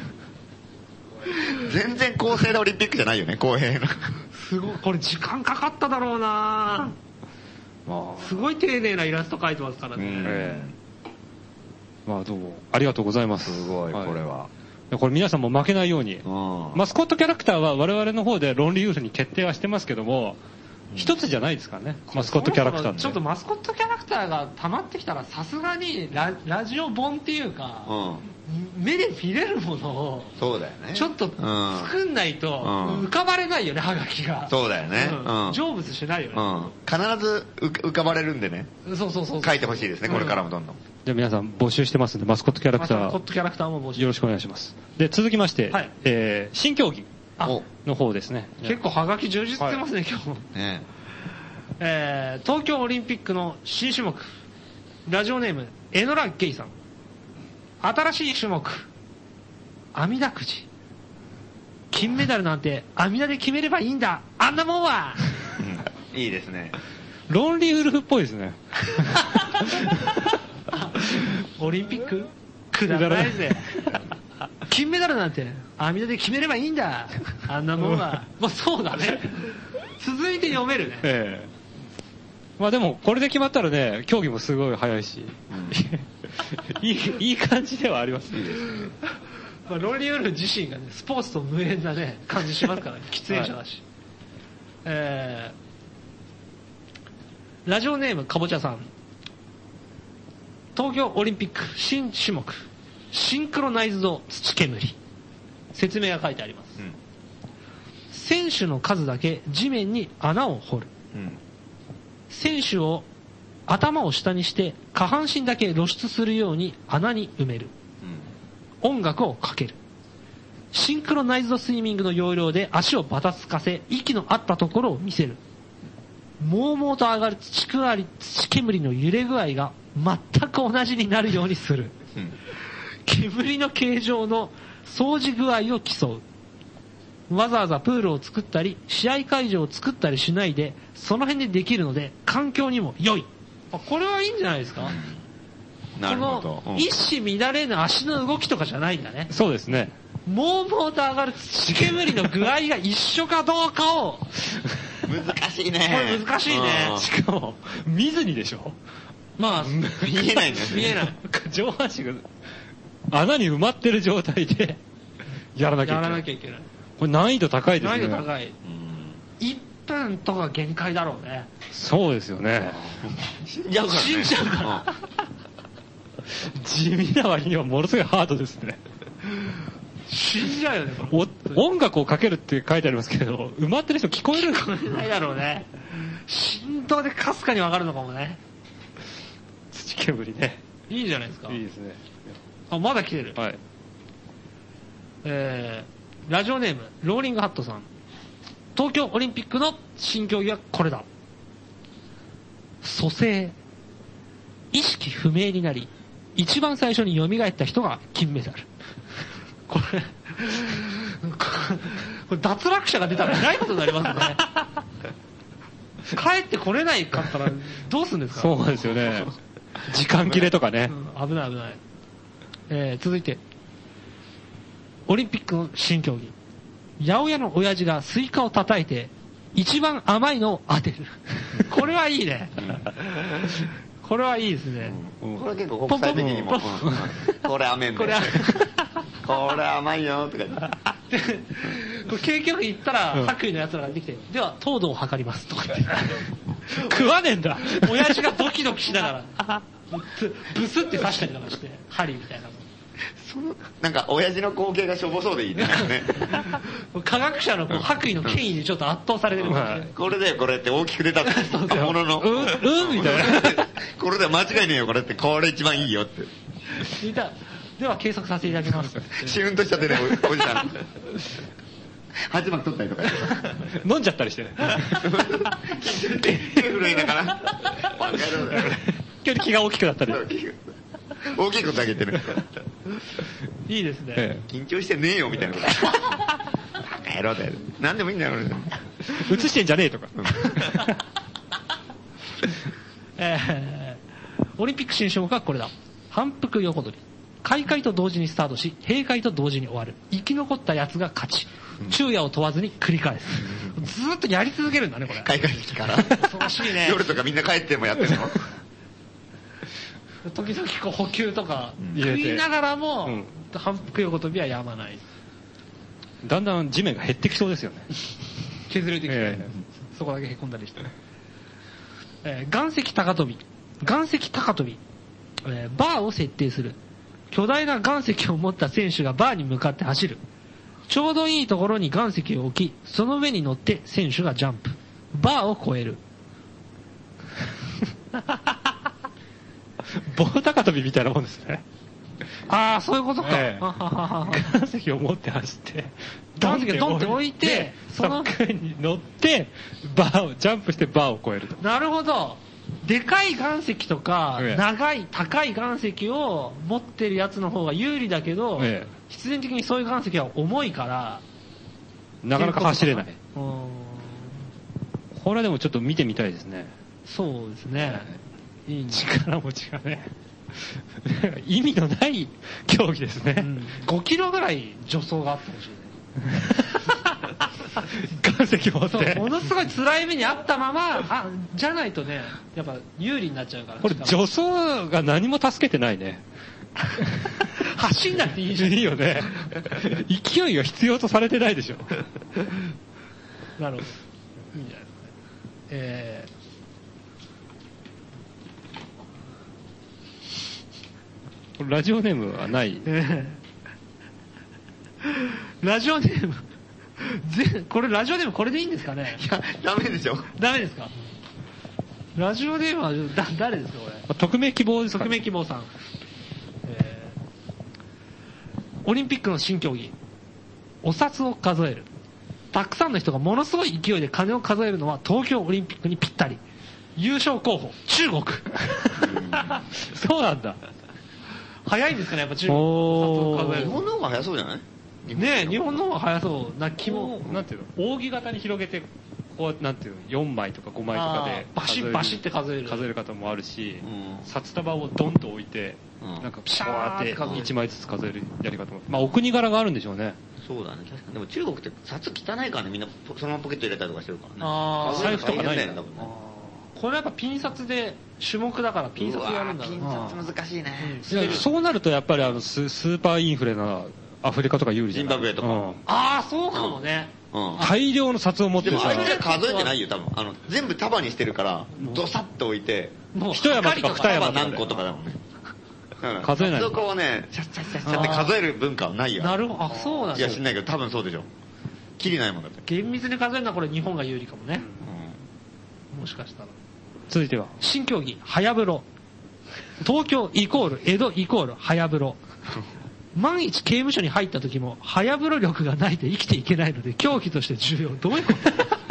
全然公正なオリンピックじゃないよね、公平な。 すごい、これ時間かかっただろうな。すごい丁寧なイラスト描いてますからね。えー、まあどうもありがとうございます。 すごい、はい、これは。 これ皆さんも負けないように、マスコットキャラクターは我々の方でロンリーウルフに決定はしてますけども、一つじゃないですからね、マスコットキャラクターって。 ちょっとマスコットキャラクターが溜まってきたらさすがに ラ, ラジオ本っていうか、うん、目で見れるものをそうだよね、 ちょっと作んないと浮かばれないよね、ハガキが。 そうだよね、 うん、成仏しないよね、うん、 必ず浮かばれるんでね。 そうそうそうそう、 書いてほしいですね、これからもどんどん。 じゃあ皆さん募集してますんで、マスコットキャラクター、 マスコットキャラクターも募集、 よろしくお願いします。で続きまして、はい、えー、新競技の方ですね。 結構ハガキ充実してますね、はい、今日もね。えー、東京オリンピックの新種目、ラジオネームエノラゲイさん。新しい種目、阿弥陀くじ。金メダルなんて阿弥陀で決めればいいんだ、あんなもんは、 うん、いいですね。 ロンリーウルフっぽいですね。 オリンピックくだらないぜ。金メダルなんて阿弥陀で決めればいいんだ、あんなもんは。まあそうだね。続いて読めるね。ええ、 まあでもこれで決まったらね、競技もすごい早いし、うん、いいいい感じではありますね。 まあ、ロンリーウルフ自身がね、スポーツと無縁なね感じしますからね、喫煙者だし。はい、えー、ラジオネームかぼちゃさん。東京オリンピック新種目、シンクロナイズド土煙。説明が書いてあります。うん、選手の数だけ地面に穴を掘る。うん、選手を頭を下にして下半身だけ露出するように穴に埋める。うん、音楽をかける。 シンクロナイズドスイミングの要領で足をばたつかせ、息の合ったところを見せる。もうもうと上がる土くり、土煙の揺れ具合が全く同じになるようにする。うん、煙の形状の掃除具合を競う。わざわざプールを作ったり、試合会場を作ったりしないで、その辺でできるので、環境にも良い。あ、これはいいんじゃないですか、うん、なるほど。うん、一糸乱れぬ足の動きとかじゃないんだね。 そうですね。 もうもうと上がる土煙の具合が一緒かどうかを難しいね。 これ難しいね。 しかも見ずにでしょ。 まあ見えないね。 見えない。 上半身が穴に埋まってる状態でやらなきゃいけない。 やらなきゃいけない。 これ難易度高いですね。 難易度高い。いっぷんとか限界だろうね。 そうですよね。 死んじゃうから、ね。 死んじゃうから。 地味な割にはものすごいハードですね。 死んじゃうよね、 これ。音楽をかけるって書いてありますけど、埋まってる人聞こえる聞こえないだろうね。振動でかすかにわかるのかもね。 土煙ね。 いいじゃないですか。 いいですね。 あ、まだ来てる。 はい。 えー、ラジオネーム、ローリングハットさん。東京オリンピックの新競技はこれだ。蘇生。意識不明になり、一番最初に蘇った人が金メダル。これ、これ脱落者が出たらえらいことになりますね。帰ってこれないかったらどうするんですか。 そうですよね。時間切れとかね。 うん、危ない危ない。えー、続いて、オリンピックの新競技。八百屋の親父がスイカを叩いて、一番甘いのを当てる。これはいいね。これはいいですね。 うん、これ結構国際的にも。これ甘いんだよ。これ甘いよとか言って。 これ結局言ったら、白衣の奴らができて、では糖度を測りますとか言って。 食わねえんだ。 親父がドキドキしながら、ブスって刺したりとかして、針みたいなの。 そのなんか親父の光景がしょぼそうでいいね。 科学者のこう白衣の権威にちょっと圧倒されてる、ね、 これだよこれって大きく出たもののうんうんみたいなこれでは間違いねえよこれってこれ一番いいよってでは計測させていただきますシュンとしちゃってね お, おじさんはちまき取ったりとか飲んじゃったりしてね手震えながら今日気が大きくなったり大きいことあげてるいいですね、 ええ、緊張してねえよみたいなことバカ野郎だよ何でもいいんだよ映してんじゃねえとか、 えー、オリンピック新種目はこれだ。反復横取り。開会と同時にスタートし閉会と同時に終わる。生き残ったやつが勝ち。昼夜を問わずに繰り返す。ずーっとやり続けるんだねこれ。 開会式から恐ろしいね。 夜とかみんな帰ってもやってるの時々こう補給とか食いながらも、うん、反復横跳びはやまない。 だんだん地面が減ってきそうですよね。 削れてきて、えー、そこだけへこんだりして、えー、岩石高跳び。岩石高跳び、えー、バーを設定する。巨大な岩石を持った選手がバーに向かって走る。ちょうどいいところに岩石を置き、その上に乗って選手がジャンプ。バーを越える。 棒高跳びみたいなもんですね。 ああ、そういうことか。ええ、 岩石を持って走って、 岩石をドンって置いて、 その上に乗って、バーを、ジャンプしてバーを越えると。 なるほど。でかい岩石とか、ええ、長い、高い岩石を持ってるやつの方が有利だけど、ええ、必然的にそういう岩石は重いから、 なかなか走れない。これはでもちょっと見てみたいですね。 そうですね。 いい力持ちがね意味のない競技ですね、うん、 ごキロぐらい助走があってほしいね岩石持ってものすごい辛い目にあったままあじゃないとねやっぱ有利になっちゃうからこれ助走が何も助けてないね走んなくていいじゃんいいよね勢いが必要とされてないでしょなるほどいいんじゃないですかねえーラジオネームはない、えー、ラジオネームぜこれラジオネームこれでいいんですかね。 いやダメでしょ。 ダメですか。ラジオネームはだ誰ですかこれ。 匿名希望ですか、 匿名希望さん、えー、オリンピックの新競技お札を数える。たくさんの人がものすごい勢いで金を数えるのは東京オリンピックにぴったり。優勝候補、中国。 そうなんだ。 早いんですかね、やっぱ中国の札を数える。 日本の方が早そうじゃない？ ねえ、日本の方が早そうな気も。 なんていうの、扇形に広げて、こう、なんていうの、よんまいとかごまいとかで、 バシッバシッって数える。 数える方もあるし、 うん、 札束をドンと置いて、うん、なんか、ピシャーっていちまいずつ数えるやり方も。まあ、お国柄があるんでしょうね。 そうだね、確かに。でも中国って札汚いからね、みんなそのままポケット入れたりとかしてるからね。 ああ、財布とかないんだよ、多分ね。 これやっぱピン札で、種目だからピン札やるんだろう。 ピン札難しいね。 うん、そうなるとやっぱりあのス、スーパーインフレなアフリカとか有利じゃない？ ジンバブエとか。うん、 ああ、そうかもね。 うん、大量の札を持ってるさ。でもあれじゃ数えてないよ、多分。あの、全部束にしてるから、ドサッと置いて、 もう一山とか二山とか。 何個とかだもんね。 数えない。 そこをね、シャッシャッシャッシャッって数える文化はないよ。 なるほど、あ、そうなんだ。 いや、知んないけど、多分そうでしょ。きりないもんだって。 厳密に数えるのはこれ日本が有利かもね。うん、もしかしたら。 続いては。 新競技、早風呂。東京イコール、江戸イコール、早風呂。万一刑務所に入った時も、早風呂力がないと生きていけないので、競技として重要。どういうこと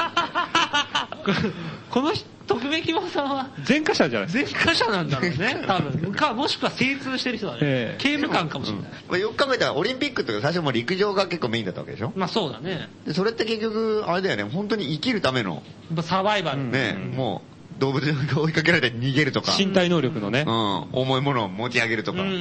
この人、徳明希望さんは、 前科者じゃない前科者なんだろうね、多分。か、もしくは精通してる人だね。えー、刑務官かもしれない。 まあ、よく考えたら、オリンピックって最初も陸上が結構メインだったわけでしょ？ まあそうだね。 で、それって結局、あれだよね、本当に生きるための。 サバイバル。 ね、うん、もう、動物が追いかけられて逃げるとか。 身体能力のね。 うん。重いものを持ち上げるとか。うん。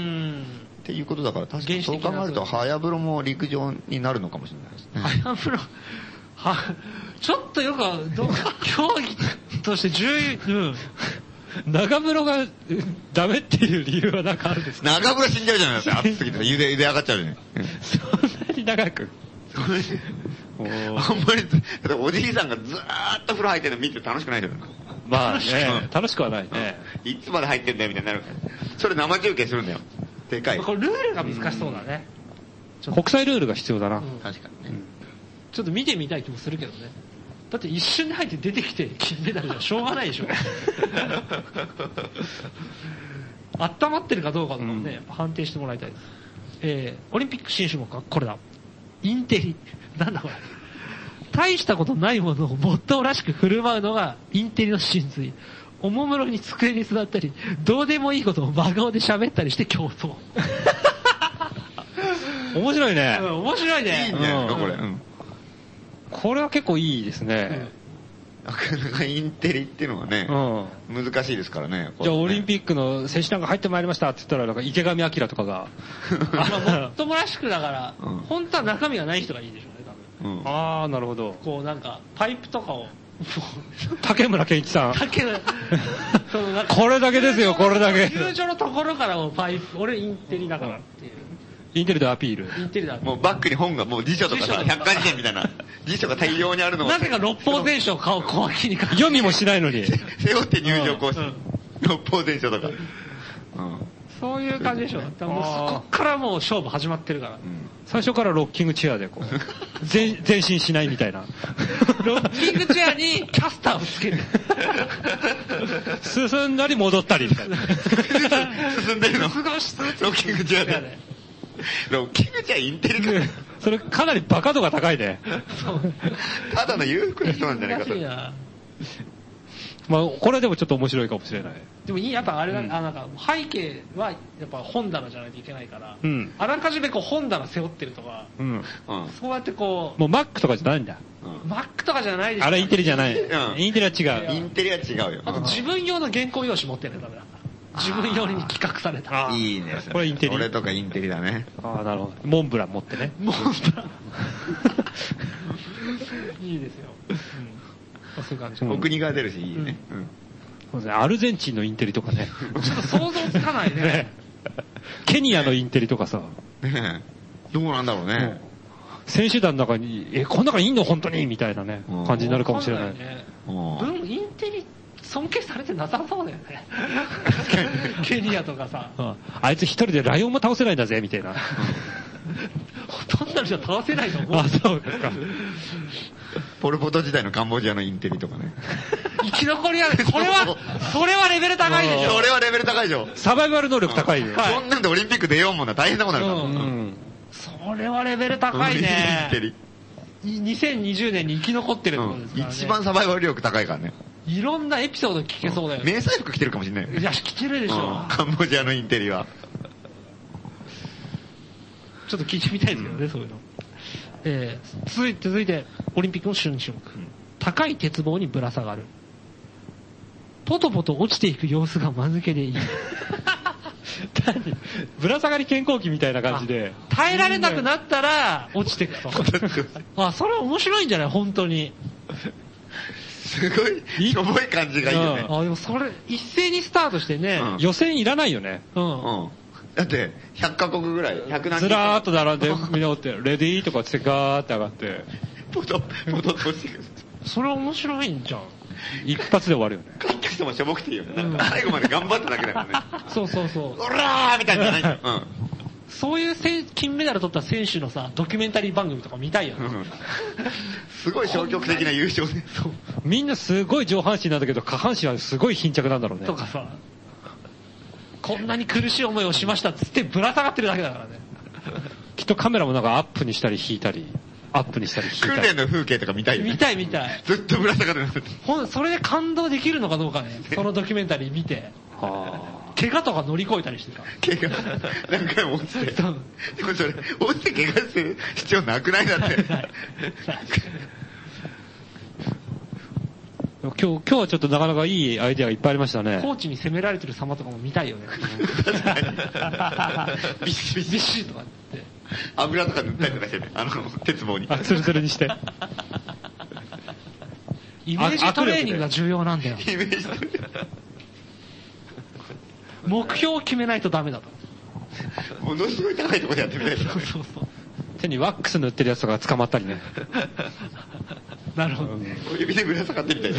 っていうことだから、確かにそう考えると、早風呂も陸上になるのかもしれないですね。 早風呂、は、ちょっとよく、どう競技として重要、うん。 長風呂がダメっていう理由はなんかあるんですか？ 長風呂死んじゃうじゃないですか、暑すぎて。茹で、茹で上がっちゃうじゃん。 そんなに長く。 あんまり、おじいさんがずーっと風呂入ってるの見て楽しくないじゃないですか。 まあね、楽しくはないね。 いつまで入ってんだよみたいになるから。それ生中継するんだよ。でかい。 これルールが難しそうだね。 国際ルールが必要だな。 確かにね。 ちょっと見てみたい気もするけどね。だって一瞬で入って出てきて金メダルじゃしょうがないでしょ。温まってるかどうかとかもね、やっぱ判定してもらいたいです。えー、オリンピック新種目はこれだ。インテリ。なんだこれ。大したことないものをもっともらしく振る舞うのがインテリの真髄。おもむろに机に座ったり、どうでもいいことを真顔で喋ったりして競争。 面白いね。 うん、面白いね。 いいんじゃないですか、これ。うん、 これは結構いいですね。 なかなかインテリっていうのはね、うん、難しいですからね。 じゃあオリンピックの選手団が入ってまいりましたって言ったら、なんか池上彰とかが。 まあ、もっともらしくだから、うん、本当は中身がない人がいいでしょうね、多分。 うん、ああ、なるほど。 こうなんか、パイプとかを、 竹村健一さん。 竹村、 そのこれだけですよ、これだけ。 友情のところからもパイプ、俺インテリだからっていう。 インテリでアピール。 インテリだ。 もうバックに本が、もう辞書とかさ、百科事典みたいな、辞書が大量にあるのを。 なぜか六法全書を顔小脇に書く。 読みもしないのに。 背負って入場講師。六法全書とか。うん。 そういう感じでしょ。もうそこからもう勝負始まってるから。うん、 最初からロッキングチェアでこう、前前進しないみたいな。 ロッキングチェアにキャスターをつける。 進んだり戻ったりみたいな。 進んでるのロッキングチェアで。ロッキングチェアインテリか。 それかなりバカ度が高いね。 ただの裕福な人なんじゃないかと。 まあ、これでもちょっと面白いかもしれない。 でもいい、やっぱあれだ、うん、あなんか背景はやっぱ本棚じゃないといけないから、うん、あらかじめこう本棚背負ってるとか、うん、そうやってこう。もう Mac とかじゃないんだ。 うん、Mac とかじゃないでしょ。 あれインテリじゃない。うん、インテリは違う。 インテリは違うよ。 あと自分用の原稿用紙持ってるのダメだ。自分用に企画された。 いいね。 これインテリ。 俺とかインテリだね。 ああ、なるほど。モンブラン持ってね。 モンブラン。いいですよ。うん、そういう感じ。 お国が出るし、いいね。うんうんそうですね、アルゼンチンのインテリとかね。 ちょっと想像つかないね。ねケニアのインテリとかさ。 ねどうなんだろうね。 選手団の中に、え、この中にいんの本当にみたいなね、感じになるかもしれない。 ね、文インテリ尊敬されてなさそうだよね。ケニアとかさ。 あ, あいつ一人でライオンも倒せないんだぜ、みたいな。 ほとんどの人は倒せないと思う。 あ、そうですか。 ポルポト時代のカンボジアのインテリとかね。 生き残りは、これは、それはレベル高いでしょ。 それはレベル高いでしょ。 サバイバル能力高いよ。 はい、そんなんでオリンピック出ようもんな大変なことになるから。うん。 それはレベル高いね。にせんにじゅうねんに生き残ってるってことですからね。 一番サバイバル力高いからね。 いろんなエピソード聞けそうだよね。 迷彩服着てるかもしれない。 いや、着てるでしょ。 カンボジアのインテリは。 ちょっと聞いてみたいですけどね、そういうの。えー、続いて、続いて、オリンピックの旬種目。高い鉄棒にぶら下がる。ポトポト落ちていく様子が間抜けでいい。 ぶら下がり健康器みたいな感じで。 耐えられなくなったら落ちていくと。あ、それは面白いんじゃない本当に。 すごい、しょぼい感じがいいよね。 あ、でもそれ、一斉にスタートしてね。 うん、予選いらないよね。 うん。うん。 だって、ひゃっカ国ぐらい、ひゃく何人。 ずらーっと並んで、みんなおって、レディーとかつってガーって上がって。 ポト、ポトッと落ちてくる。 それ面白いんじゃん。 一発で終わるよね。 勝った人もしょぼくていいよね。なんか最後まで頑張っただけだからね。 そうそうそう。 オラーみたいなじゃない。うん。 そういう金メダル取った選手のさ、ドキュメンタリー番組とか見たいよね。うん、 すごい消極的な優勝ね。 そう。みんなすごい上半身なんだけど、下半身はすごい貧着なんだろうね。 とかさ、こんなに苦しい思いをしましたっつってぶら下がってるだけだからね。 きっとカメラもなんかアップにしたり引いたり、アップにしたり引いたり。 訓練の風景とか見たいよね。 見たい見たい。 ずっとぶら下がってる。 ほん、それで感動できるのかどうかね。そのドキュメンタリー見て。はあ。怪我とか乗り越えたりしてさ。 怪我何回も落ちて。でもそれ、落ちて怪我する必要なくないだって。 今日、今日はちょっとなかなかいいアイデアがいっぱいありましたね。 コーチに攻められてる様とかも見たいよね。 確かに。ビシビシ。 ビシとかって。 油とか塗ったりとかしてね。あの、鉄棒に。 あ、ツルツルにして。 イメージトレーニングが重要なんだよ。 イメージトレーニング。 目標を決めないとダメだと。 ものすごい高いところでやってみたいとか、ね。そうそうそう。 手にワックス塗ってるやつとか捕まったりね。 なるほど。 指でぶら下がってみたいな。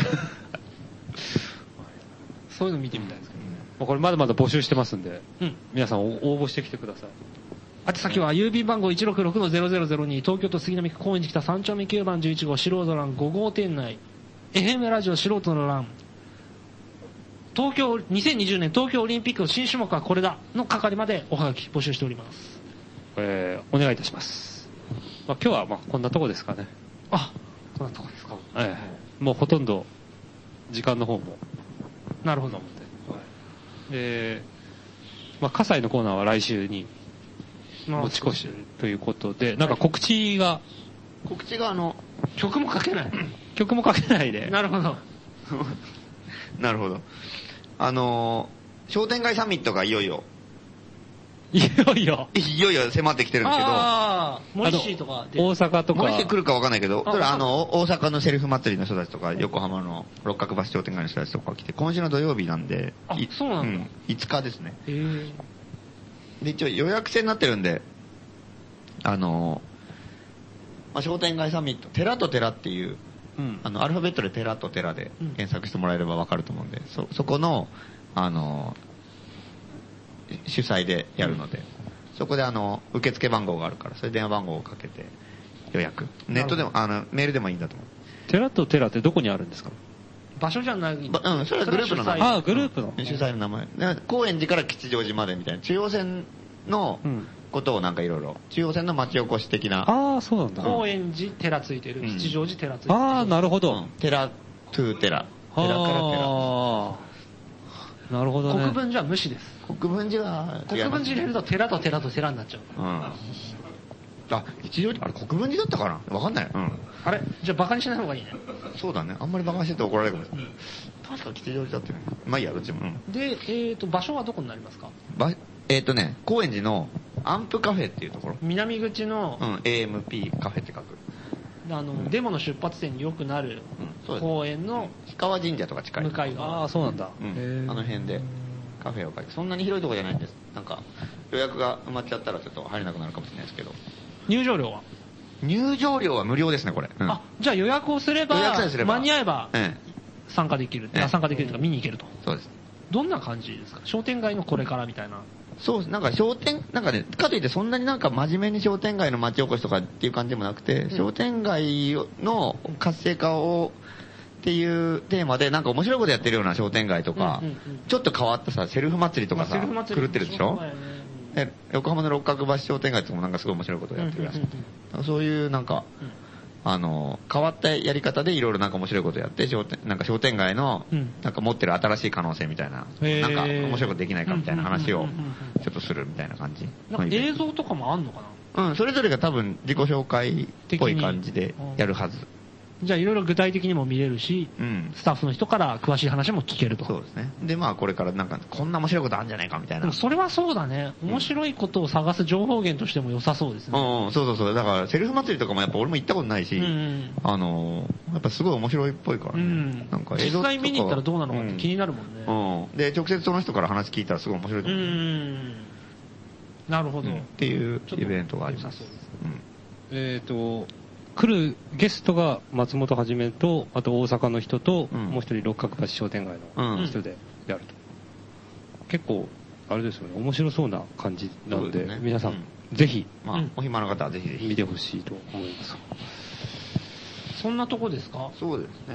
そういうの見てみたいですけどね。 もうこれまだまだ募集してますんで、 うん、 皆さん応募してきてください。 あて先は郵便番号 いちろくろくのゼロゼロゼロに 東京都杉並区高円寺北さん丁目きゅうばんじゅういち号素人欄ご号店内 エフエム ラジオ素人の欄東京にせんにじゅうねん東京オリンピックの新種目はこれだの係までおはがき募集しております。 えー、お願いいたします。まあ、今日はまあこんなとこですかね。 あ、こんなとこですか。 ええ、もうほとんど時間の方もなるほど。 はい、で、まあ葛西のコーナーは来週に持ち越しということで、なんか告知が、 告知があの曲もかけない。 曲もかけないで。 なるほど。 なるほど。あのー、商店街サミットがいよいよ。 いよいよ。 いよいよ迫ってきてるんですけど。 ああ、モリシーとかで。大阪とか。 モリシー来るかわかんないけど、それあの、大阪のセルフ祭りの人たちとか、横浜の六角橋商店街の人たちとか来て、今週の土曜日なんで、 あ、そうなんだ。うん、 いつかですね。 へー。 で、一応予約制になってるんで、あのー、まあ、商店街サミット、寺と寺っていう、うん、あの、アルファベットで寺と寺で検索してもらえればわかると思うんで、そ、そこの、あのー、主催でやるので、うん、そこであの、受付番号があるから、それ電話番号をかけて予約。ネットでも、あの、メールでもいいんだと思う。 寺と寺ってどこにあるんですか？ 場所じゃない。うん、 それはグループの名前。 ああ、グループの。 主催の名前。高円寺から吉祥寺までみたいな、中央線のことをなんかいろいろ、中央線の町おこし的な。 ああ、そうなんだ。 高円寺寺ついてる、うん、吉祥寺寺ついてる。 ああ、なるほど。うん、 寺、トゥー寺。寺から寺。 ああ。なるほどね。 国分寺は無視です。 国分寺は、 国分寺入れると寺と寺と寺になっちゃう。うん。 あ、吉祥寺、あれ国分寺だったかなわかんない。うん。 あれじゃあバカにしない方がいいね。 そうだね。あんまりバカにしてて怒られるかもしれない。うん、確か吉祥寺だってね。まあいいや、どっちも。うん、 で、えっ、ー、と、場所はどこになりますか？ ば、えっ、ー、とね、高円寺のアンプカフェっていうところ。 南口の、 うん、エーエムピー カフェって書く。 あの、うん、デモの出発点によくなる公園の、 氷川神社とか近い。 向かい側。 ああ、そうなんだ。 うん。あの辺でカフェを書いて、そんなに広いところじゃないんです。なんか、予約が埋まっちゃったらちょっと入れなくなるかもしれないですけど。 入場料は？ 入場料は無料ですね、これ。 うん、あ、じゃあ予約をすれば、予約さえすれば間に合えば、参加できる。ええ、参加できるとか見に行けると。 そうです。 どんな感じですか？商店街のこれからみたいな。 そうです。なんか商店、なんかね、かといってそんなになんか真面目に商店街の町おこしとかっていう感じでもなくて、うん、商店街の活性化を、っていうテーマでなんか面白いことやってるような商店街とか、うんうんうん、ちょっと変わったさ、セルフ祭りとかさ、狂ってるでしょ？ で横浜の六角橋商店街ともなんかすごい面白いことをやってるらしくて、そういうなんか、あの、変わったやり方でいろいろなんか面白いことをやって、商店、なんか商店街の、なんか持ってる新しい可能性みたいな、なんか面白いことできないかみたいな話をちょっとするみたいな感じ。 なんか映像とかもあんのかな？ うん、それぞれが多分自己紹介っぽい感じでやるはず。 じゃあいろいろ具体的にも見れるし、 うん、 スタッフの人から詳しい話も聞けると。 そうですね。で、まあこれからなんかこんな面白いことあるんじゃないかみたいな。 でもそれはそうだね。面白いことを探す情報源としても良さそうですね。 うん、うん、そうそうそう。だからセルフ祭りとかもやっぱ俺も行ったことないし、うんうん、あの、やっぱすごい面白いっぽいからね。うん、なんか実際見に行ったらどうなのかって気になるもんね。 うん。うん、で、直接その人から話聞いたらすごい面白いと思う。うん。 なるほど、うん。 っていうイベントがあります。 うん、えっ、ー、と、来るゲストが松本はじめと、あと大阪の人と、うん、もう一人六角橋商店街の人でやると。うん、結構、あれですよね、面白そうな感じなので、でね、皆さん、うん、ぜひ、 まあ、お暇な方はぜひぜひ見てほしいと思います。 そんなとこですか？ そうですね。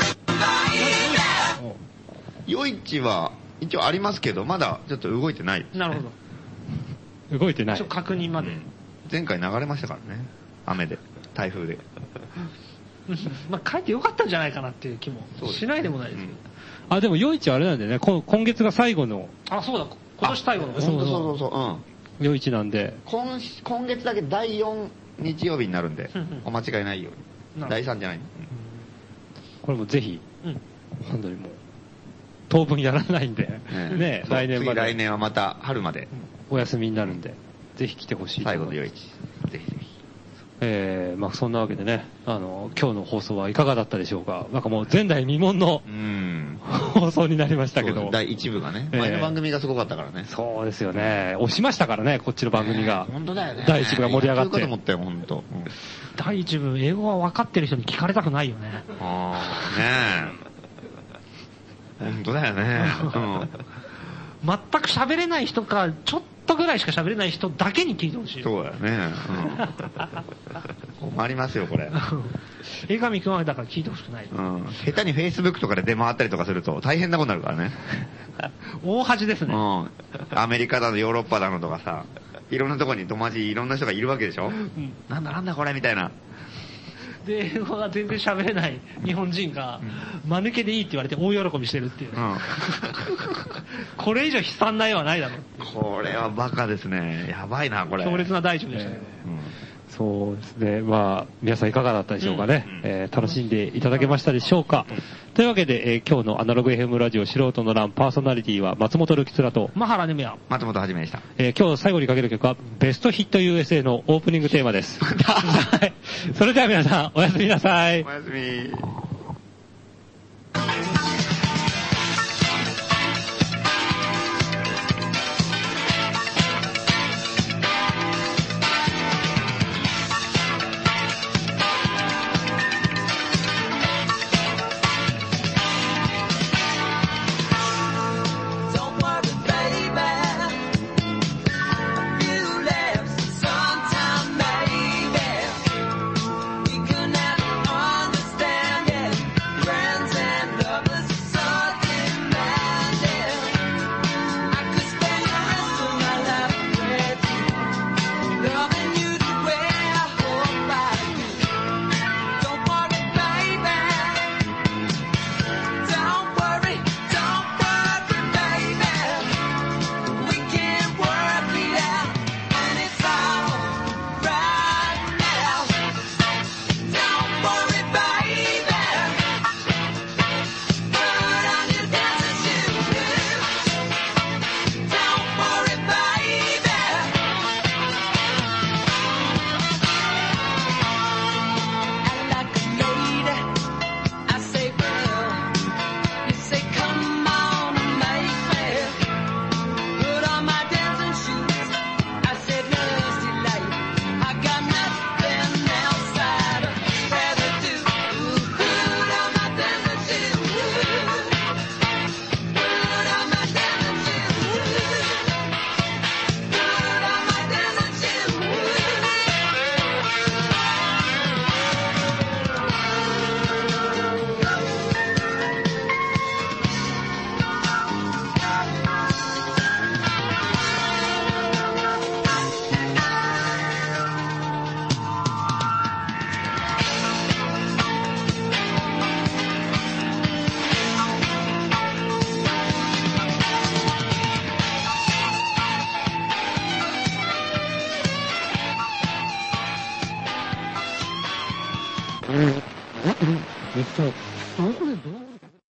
夜市は一応ありますけど、まだちょっと動いてないですね。 なるほど。動いてない。 ちょっと確認まで、うん。 前回流れましたからね。雨で。台風で。 まあ帰ってよかったんじゃないかなっていう気もしないでもないですけど。 うん、あ、でも夜市はあれなんでね、今月が最後の。 あ、そうだ。今年最後の。 そうそうそうそう。うん。 夜市なんで。 今、今月だけだいよん日曜日になるんで、お間違いないように。だいさんじゃないの。 これもぜひ、うん、本当にもう、当分やらないんで、ね、ね来年まで。 来年はまた春まで。 お休みになるんで、ぜひ来てほしいと思います。 最後の夜市。ぜひぜひ。 えー、まあそんなわけでね、あの、今日の放送はいかがだったでしょうか。なんかもう前代未聞の放送になりましたけど。 第一部がね、前の番組がすごかったからね。 そうですよね。押しましたからね、こっちの番組が。 本当だよね。 第一部が盛り上がって。 そういうこと思ったよ、本当。 第一部、英語が分かってる人に聞かれたくないよね。 ああ、ねえ。本当だよね。うん。 全く喋れない人か、ちょっとぐらいしか喋れない人だけに聞いてほしい。 そうだよね。うん、困りますよ、これ。 江上くんはだから聞いてほしくない。 うん。下手に Facebook とかで出回ったりとかすると大変なことになるからね。 大恥ですね。 うん。アメリカだのヨーロッパだのとかさ、いろんなとこに友達いろんな人がいるわけでしょ、うん、なんだなんだこれみたいな。 で、英語が全然喋れない日本人が、間抜けでいいって言われて大喜びしてるっていう、ね。うん、これ以上悲惨な絵はないだろう。 これはバカですね。やばいな、これ。 強烈な大丈夫でしたけど。 えーうんそうですね。まあ、皆さんいかがだったでしょうかね。うんえー、楽しんでいただけましたでしょうか。うん、というわけで、えー、今日のアナログ エフエム ラジオ素人の欄パーソナリティは松本るきつらと、 マハラネムヤ、 松本はじめでした。 えー、今日最後にかける曲は、ベストヒット ユーエスエー のオープニングテーマです。それでは皆さん、おやすみなさい。 おやすみ。 Sometime maybe we could never understand it. めっちゃ、あ、これどう